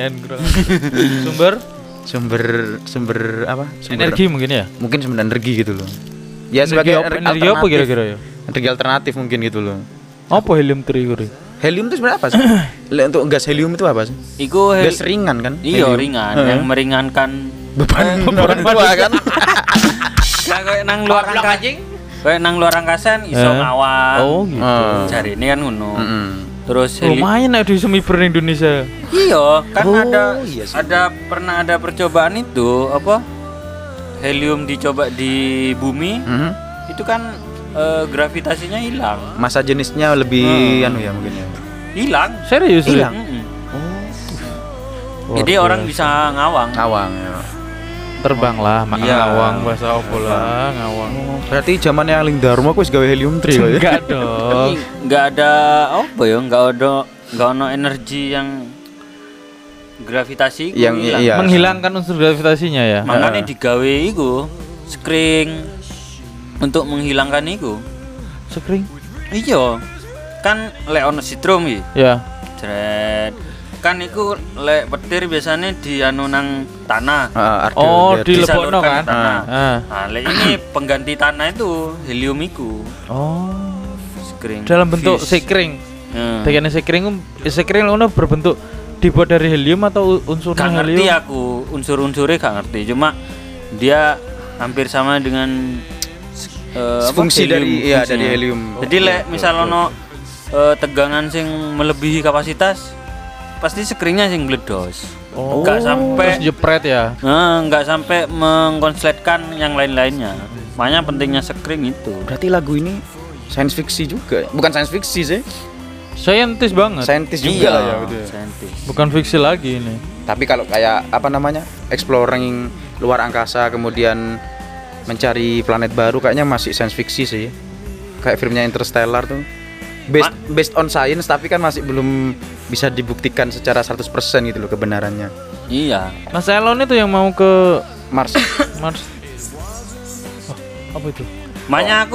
sumber apa? Energi mungkin ya? Mungkin sumber energi gitu loh. Ya Energi sebagai energi apa alternatif. kira-kira ya? Energi alternatif mungkin gitu loh. Apa helium 3 kira? Helium itu sebenarnya apa sih? Untuk gas helium itu apa sih? Iku Gas ringan kan? Iya, Helium. ringan Heeh. yang meringankan beban orang tua kan. Nah, kayak nang luar angkasa. Kayak nang luar angkasa iso ngawang. Oh gitu. Cari ini kan ngono. Mm-mm. Terus Lumayan ada di semiber Indonesia. iya, kan Oh, ada iya sih. pernah ada percobaan itu apa? Helium dicoba di bumi, Mhm. itu kan gravitasinya hilang. Masa jenisnya lebih anu ya mungkin ya. Hilang. Serius? Hilang. Mm-mm. Luar Jadi orang biasa. bisa ngawang. Ngawang ya. Terbang lah, Iya. ngawang bahasa opo lah, ngawang. Berarti zaman yang Ling Dharma aku wis gawe helium 3 kok ya. Enggak dong. Nggak ada apa ya, nggak ada energi yang gravitasi iku Yang hilang. iya. Menghilangkan unsur gravitasinya ya. Makanya digawe iku screen untuk menghilangkan iku. Sekring. Iya. Kan lek ono sitrum iki. Ya. Jret. Kan iku lek petir biasanya di anu nang tanah. Oh, di Disalurkan lebokno kan? ke tanah. Ah. Nah, lek ini pengganti tanah itu helium iku. Oh. Screen. Dalam bentuk Fuse. sekring. Hmm. Bagiannya sekring ono berbentuk dibuat dari helium atau Gak unsurnya ngerti helium? aku unsur-unsurnya gak ngerti, cuma dia hampir sama dengan fungsi dari iya fungsinya. dari helium. Jadi lek misal ono tegangan sing melebihi kapasitas pasti screennya sing bledos. Oh. Nggak sampai Terus jepret ya. nggak sampai mengkonsletkan yang lain-lainnya. Makanya pentingnya screen itu. Berarti lagu ini science fiction juga. Bukan science fiction sih. Saintis banget. Scientist juga lah ya gitu ya. saintis. Bukan fiksi lagi ini. Tapi kalau kayak apa namanya? Exploring luar angkasa kemudian mencari planet baru kayaknya masih science fiction sih. Kayak filmnya Interstellar tuh. Based on science tapi kan masih belum bisa dibuktikan secara 100% gitu loh kebenarannya. Iya. Mas Elon itu yang mau ke Mars. Mars. Oh, apa itu? Makanya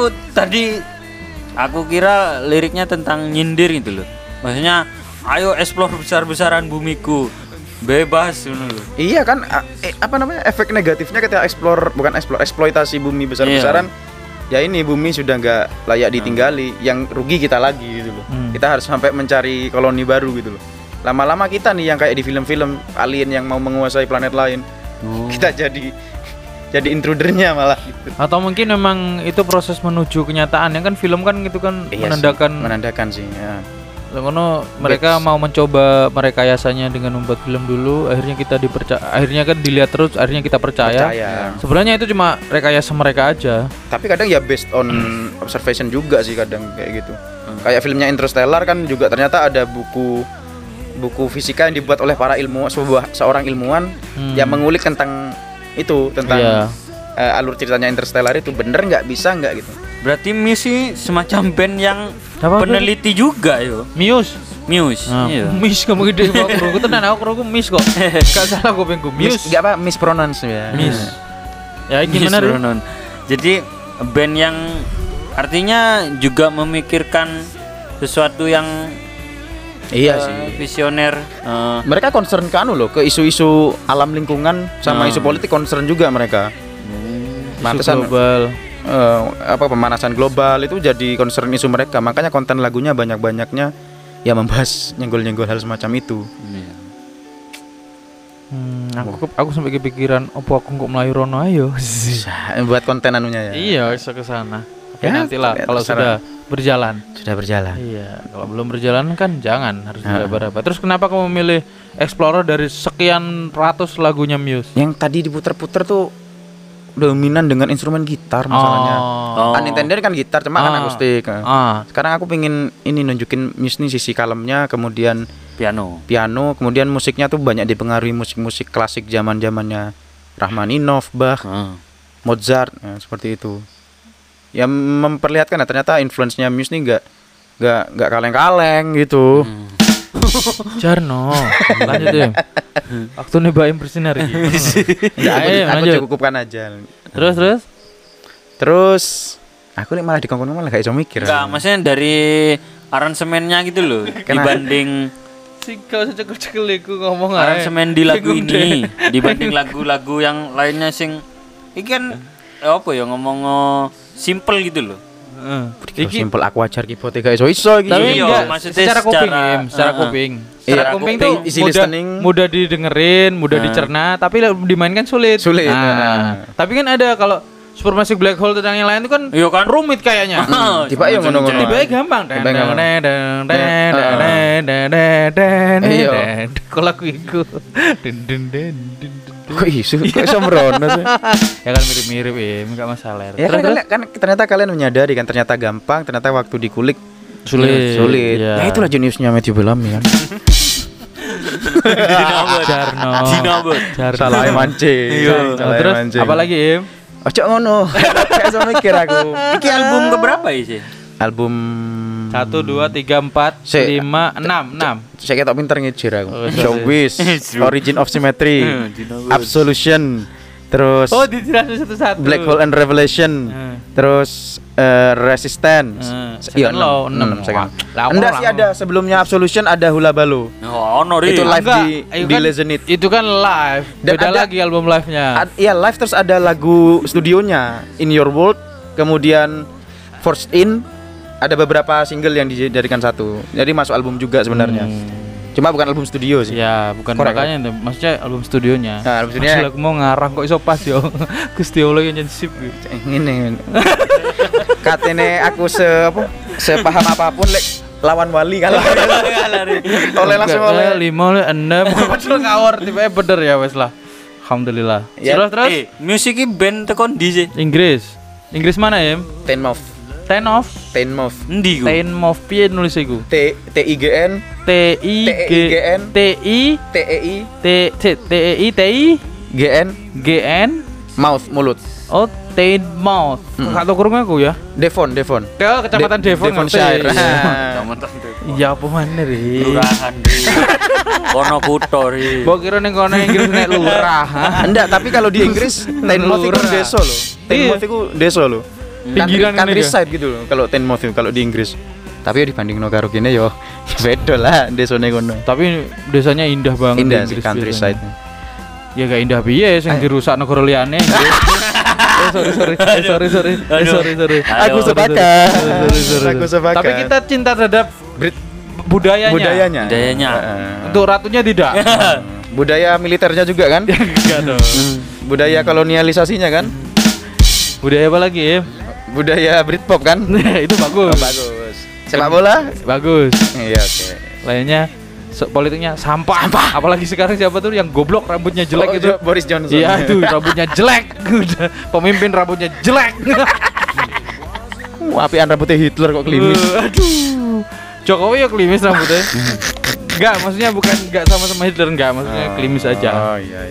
aku kira liriknya tentang nyindir gitu loh. Maksudnya ayo explore besar-besaran bumiku. Bebas gitu loh. Iya kan apa namanya? Efek negatifnya ketika eksploitasi bumi besar-besaran. Ya ini bumi sudah nggak layak ditinggali, yang rugi kita lagi gitu loh. Kita harus sampai mencari koloni baru gitu loh. Lama-lama kita nih yang kayak di film-film alien yang mau menguasai planet lain. Kita jadi intrudernya malah gitu. Atau mungkin memang itu proses menuju kenyataan yang kan film kan gitu kan Iya menandakan sih ya. Lalu mereka mau mencoba merekayasanya dengan membuat film dulu, akhirnya kan dilihat terus, akhirnya kita percaya. Sebenarnya itu cuma rekayasa mereka aja. Tapi kadang ya based on observation juga sih kadang kayak gitu. Kayak filmnya Interstellar kan juga ternyata ada buku fisika yang dibuat oleh para seorang ilmuwan yang mengulik tentang itu, tentang alur ceritanya Interstellar itu bener nggak bisa nggak gitu. Berarti Muse semacam band yang Apa peneliti juga yo. Muse. Muse. Iya. Miss kamu gede kok aku tenan aku krungu miss kok. Gak salah kupingku. Miss enggak apa mispronounce ya. Miss. Ya gimana Muse Ri? Bronon. Jadi band yang artinya juga memikirkan sesuatu yang Iya sih. visioner. Mereka concern ke anu loh, ke isu-isu alam lingkungan sama isu politik concern juga mereka. Pantesan global. apa pemanasan global itu jadi concern isu mereka. Makanya konten lagunya banyak-banyaknya ya membahas nyenggol-nyenggol hal semacam itu. Aku sampai kepikiran opo aku kok melayu rono ayo. Buat konten anunya ya. Iya, bisa ke sana. Tapi Ya, nantilah tapi kalau terserah. sudah berjalan. Sudah berjalan. Iya, kalau belum berjalan kan jangan harus diraba-raba. Terus kenapa kamu memilih Explorer dari sekian ratus lagunya Muse? Yang tadi diputer-puter tuh dominan dengan instrumen gitar masalahnya. Oh. Unintended kan gitar cuma kan akustik. Ah, Sekarang aku pengen ini nunjukin Muse nih sisi kalemnya, kemudian piano, kemudian musiknya tuh banyak dipengaruhi musik-musik klasik zaman-zamannya Rachmaninov, Bach, Mozart, seperti itu. Ya memperlihatkan ternyata influence-nya Muse nih enggak kaleng-kaleng gitu. Jarno. Lanjut ya. Waktu nih Baim bersinar iki. Aku lanjut. cukupkan aja. Terus Aku nih malah dikongkon malah gak iso mikir. Enggak, maksudnya dari aransemennya gitu loh. Dibanding sih kau cekel-cekel iku ngomong ae. aransemen di lagu ini dibanding lagu-lagu yang lainnya sing iki kan apa ya ngomong simple gitu loh. Iki simpel aku ajar keyboard gak iso iki. Tapi Iya, enggak, maksudnya secara kuping, secara- Im, secara kuping. Secara Iya, kuping kuping, tuh easy mudah, listening. mudah didengerin, mudah dicerna, tapi dimainkan sulit. Sulit, Nah, tapi kan ada kalau Supermassive Black Hole dan yang lain itu kan, Iya kan? rumit kayaknya. Tiba ya ngono-ngono. Tiba gampang. Tiba gampang. Iya. Kalau lagu iku. Kok iso merono sih? Ya kan mirip-mirip ya, enggak masalah. Ya kan ternyata kalian menyadari kan ternyata gampang, ternyata waktu dikulik Sulit. Ya itulah jeniusnya Matthew Bellamy kan. Jarno. Salah mancing. Salah Terus mancing. apa lagi, Im? Ojo ngono. Kayak iso mikir aku. Iki album keberapa ya sih? Album 1 2 3 4 Si- 5 6. saya ketok pinter ngejir aku. Oh, Showbiz, Origin of Symmetry, Absolution, terus Oh, dijelasin satu-satu. Black Hole and Revelation, terus Resistance. Iya, Second Law, 6 second. Lah, Enggak lama. sih ada sebelumnya Absolution ada Hula Balo. Oh, no, Itu live Enggak, di kan, Lezenit. Itu kan live. Dan Beda ada- lagi album live-nya. Iya live terus ada lagu studionya In Your World, kemudian Forced In, ada beberapa single yang dijadikan satu. Jadi masuk album juga sebenarnya. Cuma bukan album studio sih. Ya, bukan Korek, makanya itu. Maksudnya album studionya. Nah, album studionya- Maksud aku mau ngarang kok iso pas yo. Gusti Allah yang jadi sip. Ini katene aku sepaham apapun lek lawan wali kan. Oleh langsung oleh 5 6 betul ngawur tiba bener ya wes lah. Alhamdulillah. Ya. Terus musik iki band tekon di sih. Inggris mana ya? Tenmouth. Tenmouth Endi ku? piye nulis iku? T I G N T I G N T I T E I T I G N G N mouth mulut. Oh, Tenmouth. Kata kurung aku ya. Devon. Ke kecamatan Devon. Devonshire. ngerti. Nah. Ya apa mana ri? Kelurahan di kono kutho ri. Mbok kira ning kono Inggris nek lurah. ha? Enggak, tapi kalau di Inggris Tenmouth itu Lurah. desa loh. Tenmouth itu desa loh. Pinggiran ini countryside gitu loh kalau Tenmouth itu kalau di Inggris. Tapi ya dibanding karo kene yo beda lah desane kono. Tapi desanya indah banget Indah di sih Inggris countryside. biasanya. Ya gak indah piye sing dirusak negara liyane. Sorry. Aku sepakat. Aku sepakat. Tapi kita cinta terhadap budayanya. Budayanya. Untuk ratunya tidak. Budaya militernya juga kan? Enggak dong. Budaya kolonialisasinya kan? Budaya apa lagi, ya? Budaya Britpop kan? Itu bagus. Bagus. Sepak bola? Bagus. Iya, oke. Lainnya politiknya sampah. Apalagi sekarang siapa tuh yang goblok rambutnya jelek itu? Boris Johnson. Iya itu rambutnya jelek. Pemimpin rambutnya jelek. Apian rambutnya Hitler kok klimis. Aduh. Jokowi ya klimis rambutnya. Enggak, maksudnya bukan enggak sama-sama Hitler enggak, maksudnya klimis aja. Oh iya.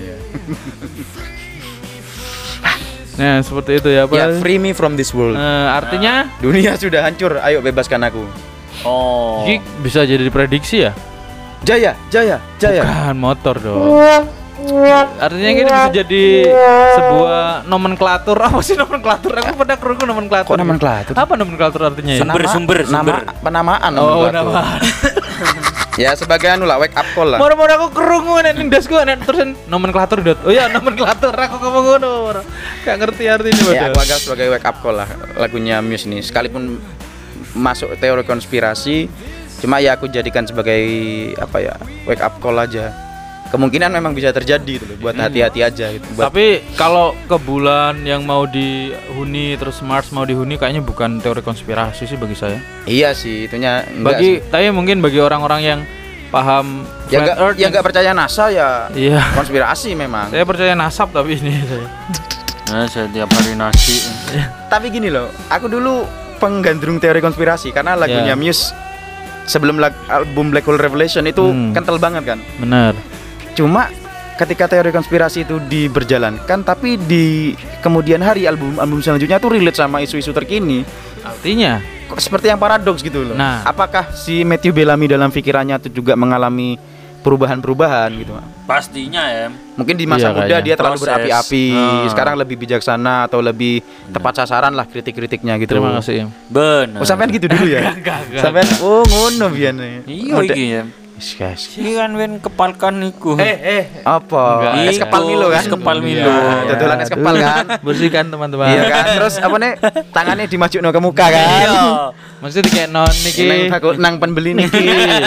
Nah, seperti itu ya, Pak. Ya, free me from this world. Artinya Dunia sudah hancur, ayo bebaskan aku. Oh. Ini bisa jadi diprediksi ya? Jaya. Bukan motor dong. Artinya ini bisa jadi sebuah nomenklatur. Apa sih nomenklatur? Aku pernah kerungu nomenklatur. Kok nomenklatur? Apa nomenklatur artinya ya? Sumber. Nama penamaan Oh, nomenklatur. nama. Ya sebagai anu lah, wake up call lah. Moro-moro aku kerungu nek ning dasku nek terusan nomenklatur dot. Oh ya nomenklatur aku ngomong ngono. Gak ngerti artinya Ya padahal. aku anggap sebagai wake up call lah lagunya Muse ini. Sekalipun masuk teori konspirasi, cuma ya aku jadikan sebagai apa ya, wake up call aja. Kemungkinan memang bisa terjadi gitu loh, buat hati-hati aja gitu. Buat Tapi kalau ke bulan yang mau dihuni terus Mars mau dihuni kayaknya bukan teori konspirasi sih bagi saya. iya sih, itunya enggak Bagi sih. tapi mungkin bagi orang-orang yang paham Ya flat earth enggak percaya NASA ya Iya. konspirasi memang. Saya percaya nasab tapi ini saya. Nah, saya tiap hari nasi. Tapi gini loh, aku dulu penggandrung teori konspirasi karena lagunya Ya. Muse sebelum album Black Hole Revelation itu kental banget kan. Benar. Cuma ketika teori konspirasi itu diberjalankan, tapi di kemudian hari album selanjutnya tuh relate sama isu-isu terkini. Artinya Kok seperti yang paradoks gitu loh. Nah. Apakah si Matthew Bellamy dalam pikirannya itu juga mengalami perubahan-perubahan gitu? Pastinya ya. Mungkin di masa Iya, muda kayaknya. dia terlalu Proses. berapi-api, Ah. sekarang lebih bijaksana atau lebih tepat sasaran lah kritik-kritiknya gitu. terima kasih. Bener. Oh sampean gitu dulu ya? Sampean oh ngono biyen. Iya iki ya. Guys. Iki kan wen kepalkan niku. Apa? Enggak. Es kepal Milo kan? Es kepal Milo. Iya, dodolan es kepal kan? Bersihkan teman-teman. Iya kan? Terus apa nih? Tangannya dimajukno ke muka kan? Iya. Maksudnya kayak non niki. Nang pembeli niki.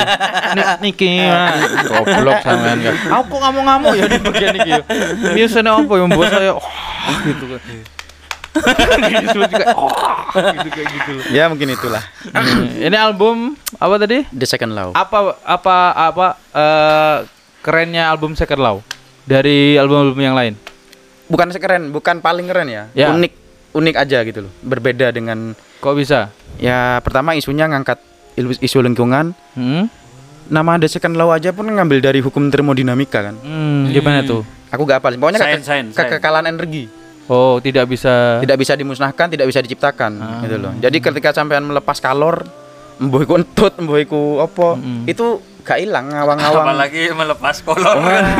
Niki. Goblok sampean kan. Aku ngamuk-ngamuk ya di bagian niki. Biasanya apa yang membuat saya gitu kan. Gitu kayak gitu. Ya mungkin itulah. Ini album apa tadi? The Second Law. Apa kerennya album Second Law dari album-album yang lain? Bukan sekeren, bukan paling keren ya. Ya. Unik aja gitu loh. Berbeda dengan Kok bisa? ya pertama isunya ngangkat isu lingkungan. Nama The Second Law aja pun ngambil dari hukum termodinamika kan. Gimana tuh? Aku gak hafal. Pokoknya Sains. kekekalan energi. Oh, tidak bisa. Tidak bisa dimusnahkan, tidak bisa diciptakan gitu loh. Jadi ketika sampean melepas kalor, mbuh iku entut, mbuh iku apa, itu gak hilang ngawang-ngawang. Apalagi melepas kolor.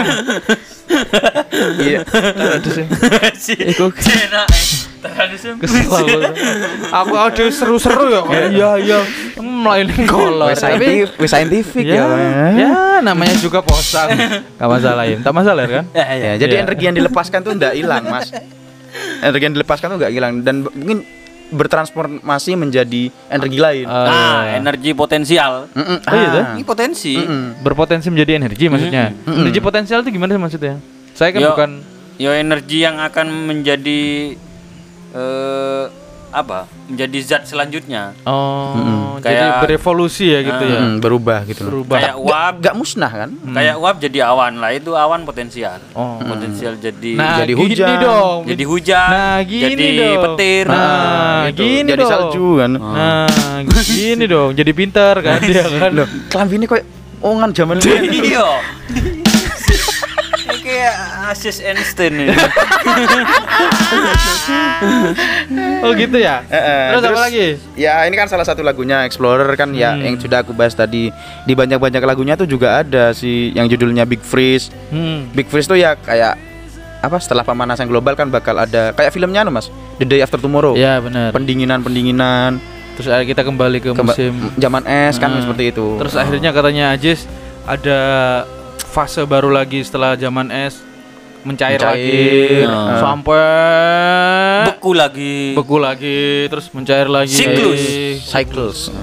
Iya. Iku kesel aku audio seru-seru ya. Iya. Melain kolor. Wes saintifik ya. Ya, namanya juga posang. Gak masalah ya. Tak masalah kan? Ya, jadi Iya. energi yang dilepaskan tuh nggak hilang, Mas. Energi yang dilepaskan tuh nggak hilang dan mungkin bertransformasi menjadi energi lain. Energi potensial. Oh iya tuh? Ini potensi. Berpotensi menjadi energi maksudnya. Energi potensial itu gimana sih maksudnya? Saya kan bukan Yo energi yang akan menjadi menjadi zat selanjutnya. jadi Kayak- berevolusi ya gitu ya. Berubah gitu loh. Berubah. Kayak uap, Nggak musnah kan? kayak uap jadi awan lah, itu awan potensial. Oh. Potensial jadi Nah, Jadi gini hujan. dong. jadi hujan, Nah, gini jadi dong. petir. Nah, Gitu. gini jadi dong. salju kan. Nah, gini dong. Jadi pintar kan dia kan. Loh, kelambi ini kayak ongan zaman dulu. Iya. Ini kayak Asis Einstein ini. Oh gitu ya. Terus apa lagi? Ya ini kan salah satu lagunya Explorer kan ya yang sudah aku bahas tadi. Di banyak-banyak lagunya tuh juga ada sih yang judulnya Big Freeze. Big Freeze tuh ya kayak apa, setelah pemanasan global kan bakal ada kayak filmnya Mas, The Day After Tomorrow. Ya benar. Pendinginan. Terus kita kembali ke musim. Zaman es kan seperti itu. Terus akhirnya katanya Ajis ada fase baru lagi setelah zaman es mencair lagi sampai beku lagi terus mencair lagi. Cycles.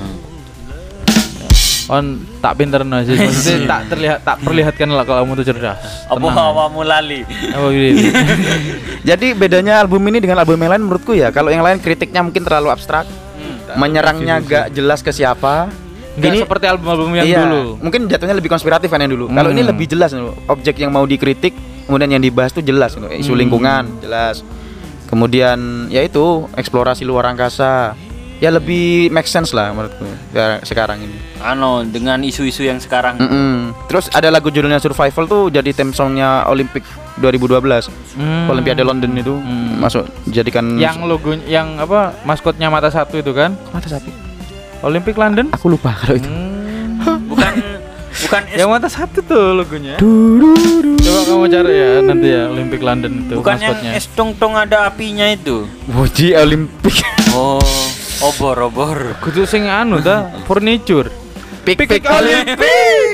On tak pinter Ajis. Maksudnya tak perlihatkan lah kalau kamu tuh cerdas. Apa awamu lali? Oh gitu. Jadi bedanya album ini dengan album yang lain menurutku ya, kalau yang lain kritiknya mungkin terlalu abstrak, menyerangnya gak jelas ke siapa. Ini seperti album-album yang iya, dulu. mungkin jatuhnya lebih konspiratif kan yang dulu. Kalau ini lebih jelas, objek yang mau dikritik, kemudian yang dibahas tuh jelas, isu lingkungan jelas. Kemudian ya itu eksplorasi luar angkasa. Ya lebih make sense lah menurutku sekarang ini. Dengan isu-isu yang sekarang. Terus ada lagu judulnya Survival tuh jadi theme songnya Olympic 2012. Olimpiade London itu masuk jadikan Yang logo yang apa maskotnya mata satu itu kan? mata sapi. Olympic London? Aku lupa kalau itu. Bukan Yang mata satu tuh logonya. Coba kamu cari ya nanti ya Olympic London itu bukan yang maskotnya. es tong ada apinya itu. Woji Olimpik. Oh, obor. Kudu sing anu ta, furniture. Pik Olimpik.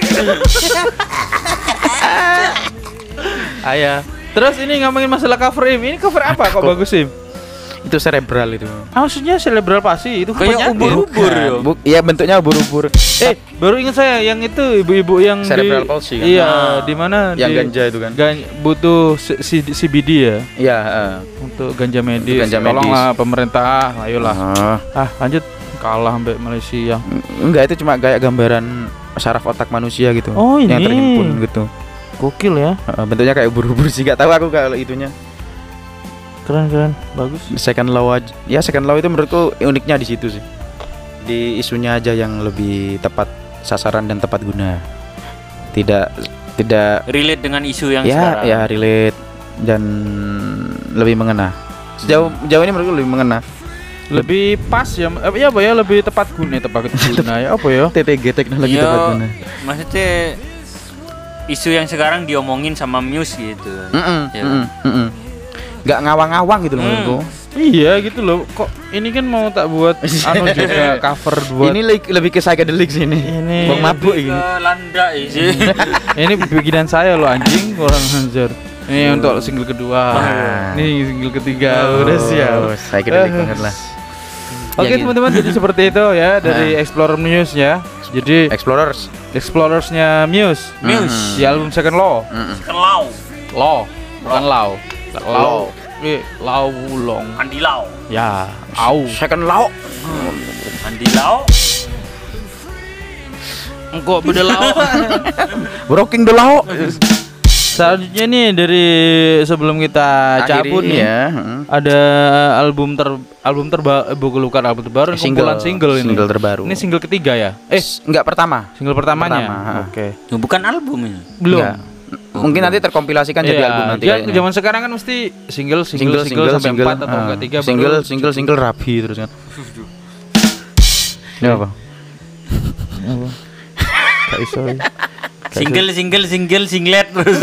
Ayah. Terus ini ngomongin masalah cover Im. Ini cover apa kok bagus Im? Itu cerebral itu. Maksudnya cerebral palsy itu Kayak ubur-ubur ya. Iya bentuknya ubur-ubur. Baru ingat saya yang itu ibu-ibu yang Cerebral palsy kan? Iya, di mana Yang di- ganja itu kan? butuh CBD ya Iya, untuk ganja medis. ganja Tolonglah pemerintah, ayolah. Ah, Lanjut kalah sampai Malaysia. enggak, itu cuma kayak gambaran saraf otak manusia gitu. Oh, Yang ini. terhimpun gitu. Gokil ya. Bentuknya kayak ubur-ubur sih, enggak tahu aku kalau itunya. Keren, bagus. Second law aja. Ya second law itu menurutku uniknya di situ sih. Di isunya aja yang lebih tepat sasaran dan tepat guna. Tidak Relate dengan isu yang ya sekarang. ya relate dan lebih mengena. Sejauh ini menurutku lebih mengena. Lebih pas ya, ya apa ya, lebih tepat guna ya apa ya? TTG teknologi Yo, tepat guna. maksudnya isu yang sekarang diomongin sama Muse gitu. Ya. Nggak ngawang-ngawang gitu loh menurutku. Iya gitu loh. Kok ini kan mau tak buat anu juga cover buat Ini lebih ke psychedelic sih ini. Ini Bang mabuk Lebih ini. ke landa sih. ini bikinan saya loh anjing, orang anjir. Ini untuk single kedua. Ini single ketiga udah siap. Psychedelic banget lah. Oke Ya, gitu. teman-teman, jadi seperti itu ya dari Explorer Muse ya. Jadi Explorers. Explorersnya Muse. Muse. Di album Second Law. Kelau. Law, bukan Law. Law. Law Wulong. Andi Lau. Ya, au. Second law. Andi Lau. Engkau beda law. Breaking the law. Selanjutnya nih dari sebelum kita cabut nih ya. ada album bukan album terbaru, kumpulan single ini. Single terbaru. Ini single ketiga ya? Enggak pertama. Single pertamanya. Pertama, Oke. Bukan album ini. Belum. Enggak. Mungkin nanti terkompilasikan jadi Iya, album nanti dia kayaknya. zaman sekarang kan mesti single sampai 4 atau enggak 3 single rapi terus kan. Ya apa? Gak iso. Single singlet terus.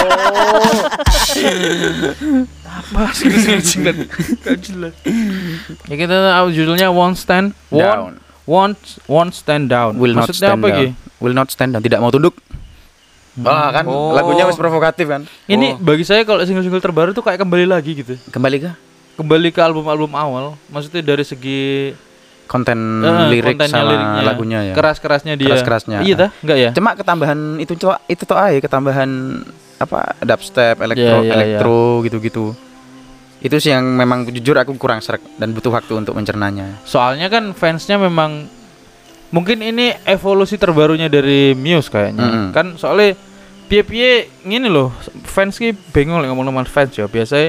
Apa single? Gak jelas. Ya kita judulnya Won't Stand Down. Won't Stand Down. Will not Maksudnya stand apa down. Gi? Will not stand down. Tidak mau tunduk. Wah kan Oh. lagunya wis provokatif kan. Ini bagi saya kalau single-single terbaru tuh kayak kembali lagi gitu. Kembali ke Kembali ke album-album awal. Maksudnya dari segi konten lirik kontennya, sama liriknya, lagunya ya. keras-kerasnya dia. Keras-kerasnya. Iya dah, enggak ya? Cuma ketambahan itu toh aja ketambahan apa dubstep, Iya, iya, elektro gitu-gitu. Itu sih yang memang jujur aku kurang srek dan butuh waktu untuk mencernanya. Soalnya kan fansnya memang mungkin ini evolusi terbarunya dari Muse kayaknya. Kan soalnya piye-piye ngene loh, fans ki bingung lek ngomong sama fans ya. Biasanya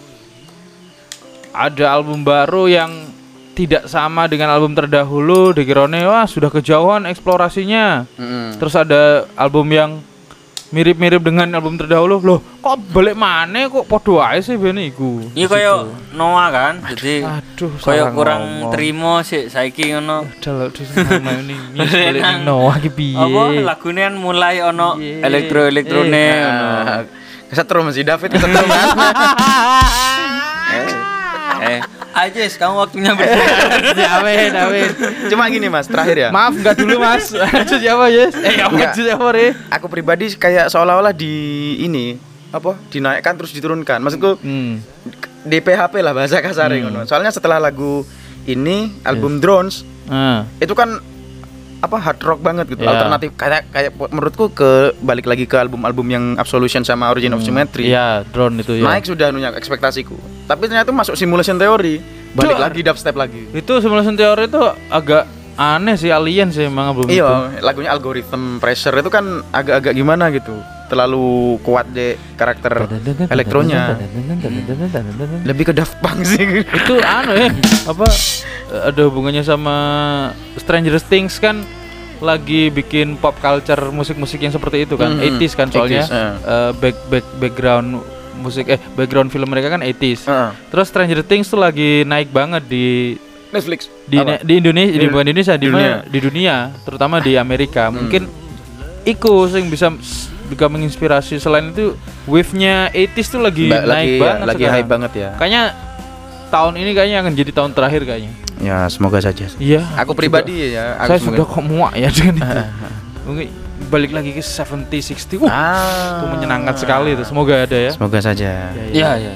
ada album baru yang tidak sama dengan album terdahulu, dikirone wah sudah kejauhan eksplorasinya. Terus ada album yang mirip-mirip dengan album terdahulu. Loh, kok balik mana kok podo ae sih ben iku. Iya kayak Noah kan. Jadi Aduh, kayak salah kurang ngomong. terima sih saiki ngono. Dalah nama ini Muse balik ning Noah ki piye. Apa lagune kan mulai ono Iya. elektro-elektrone ono. Kesetrum si David kesetrum kan. Ajis kamu waktunya bersiap. David. Cuma gini Mas, terakhir ya. Maaf enggak dulu Mas. Lanjut siapa Yes? Enggak. Lanjut siapa Re? Aku pribadi kayak seolah-olah di ini apa dinaikkan terus diturunkan. Maksudku di PHP lah bahasa kasarnya ngono. Soalnya setelah lagu ini album Drones itu kan apa hard rock banget gitu, Ya. alternatif kayak menurutku ke balik lagi ke album-album yang Absolution sama Origin of Symmetry. Iya, drone itu ya. Naik sudah nunyak ekspektasiku. Tapi ternyata masuk simulation theory, balik Duh. lagi dubstep lagi. Itu simulation teori itu agak aneh sih, alien sih emang album itu. Iya, lagunya Algorithm Pressure itu kan agak-agak gimana gitu. Terlalu kuat deh karakter elektronya. Lebih ke Daft Punk sih. Itu anu ya, apa ada hubungannya sama Stranger Things kan lagi bikin pop culture musik-musik yang seperti itu kan, 80s kan soalnya 80s, background musik background film mereka kan 80s. Heeh. Terus Stranger Things tuh lagi naik banget di Netflix. Di Indonesia, bukan di Indonesia, di dunia, terutama di Amerika. Mungkin iku sing bisa menginspirasi. Selain itu wave-nya 80s tuh lagi naik banget, lagi sekarang. hype banget ya. Kayaknya tahun ini akan jadi tahun terakhir kayaknya. Ya, semoga saja. Iya. Aku pribadi ya, Saya sudah kok muak ya dengan itu. Mungkin balik lagi ke 70 60. Itu menyenangkan sekali itu. Semoga ada ya. Semoga saja. Ya.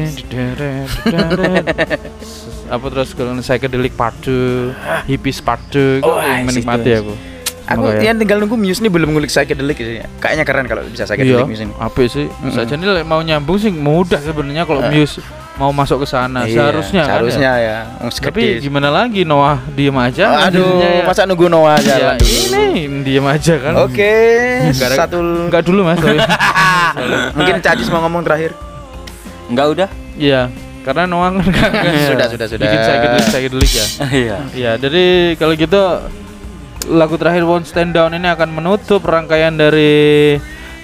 Apa terus kalau psychedelic part 2, hippies part 2 itu menikmati aku. Aku tinggal nunggu Muse nih belum ngulik psychedelic sih. Kayaknya keren kalau bisa psychedelic Muse ini. Apa sih? Saja nih mau nyambung sih mudah sebenarnya kalau Muse mau masuk ke sana. Seharusnya ya. Tapi gimana lagi, Noah diem aja. Aduh, masa nunggu Noah aja? Ini diem aja kan. Oke. Enggak dulu Mas. Mungkin Cajis mau ngomong terakhir. Enggak udah? Iya. Karena Noah kan sudah. Bikin psychedelic ya. Iya. Iya, jadi kalau gitu lagu terakhir Won't Stand Down ini akan menutup rangkaian dari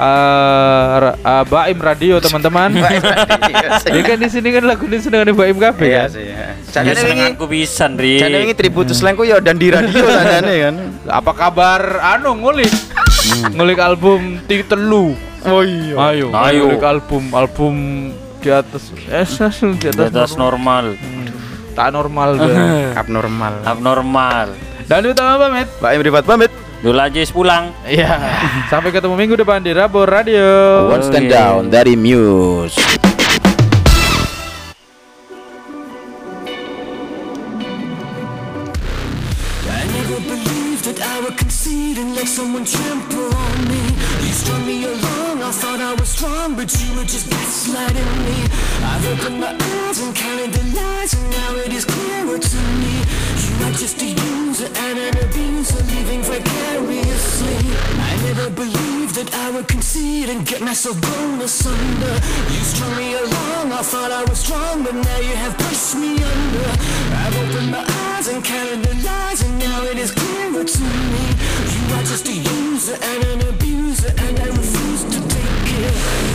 Baim Radio teman-teman. Jadi kan di sini kan lagu ini sedang Baim Cafe ya. Jane wingi aku pisan ri. Jane wingi tributus lengku ya dan di radio sanane kan. Apa kabar ngulik? Ngulik album Telu. Oh iya. Ayo. Ngulik album di atas normal. Tak normal abnormal. Dan itu pamit. Baim Rifat pamit. Dulu aja pulang. Iya. Sampai ketemu minggu depan di Rabor Radio. One Stand Down dari Muse. I never believed that I would concede and let someone trample on me. You strung me along, I thought I was strong, but you were just gaslighting me. I've opened my eyes and counted the lies, and now it is clearer to me. You are just a user and an abuser, living vicariously. I never believed that I would concede and get myself blown asunder. You strung me along, I thought I was strong, but now you have pushed me under. I've opened my eyes and counted the lies, and now it is clearer to me. You are just a user and an abuser, and I refuse to take it.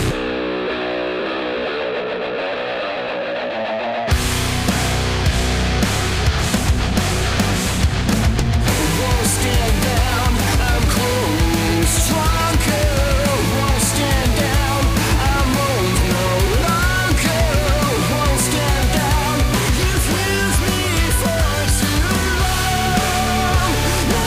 Won't stand down, I'm cold, stronger. Won't stand down, I'm old no longer. Won't stand down, you've used me for too long. No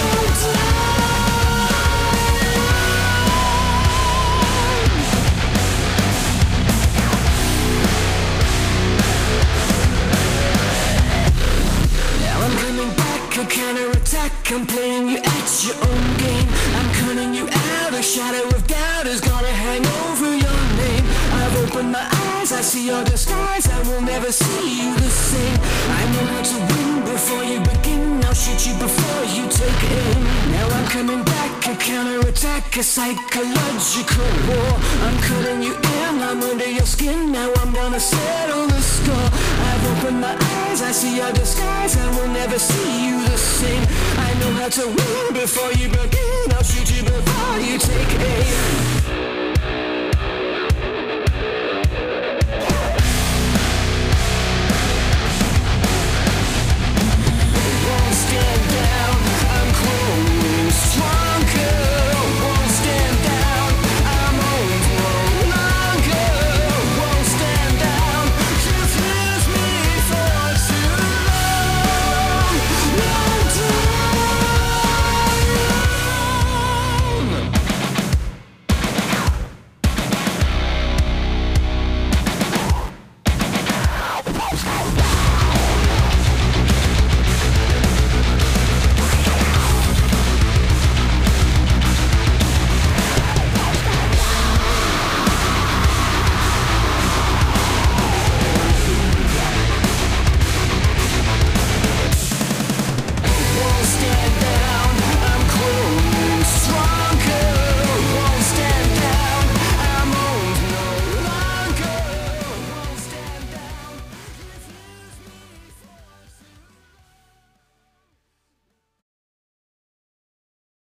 Now I'm coming back, a counterattack. I'm playing you at your own game. I'm cutting you out, a shadow of doubt is gonna hang over your name. I've opened my eyes, I see your disguise, I will never see you the same. I know how to win before you begin, I'll shoot you before you take aim. Now I'm coming back, a counterattack, a psychological war. I'm cutting you in, I'm under your skin, now I'm gonna settle the score. I've opened my eyes, I see your disguise, I will never see you the same. I know how to win before you begin, I'll shoot you before you take aim.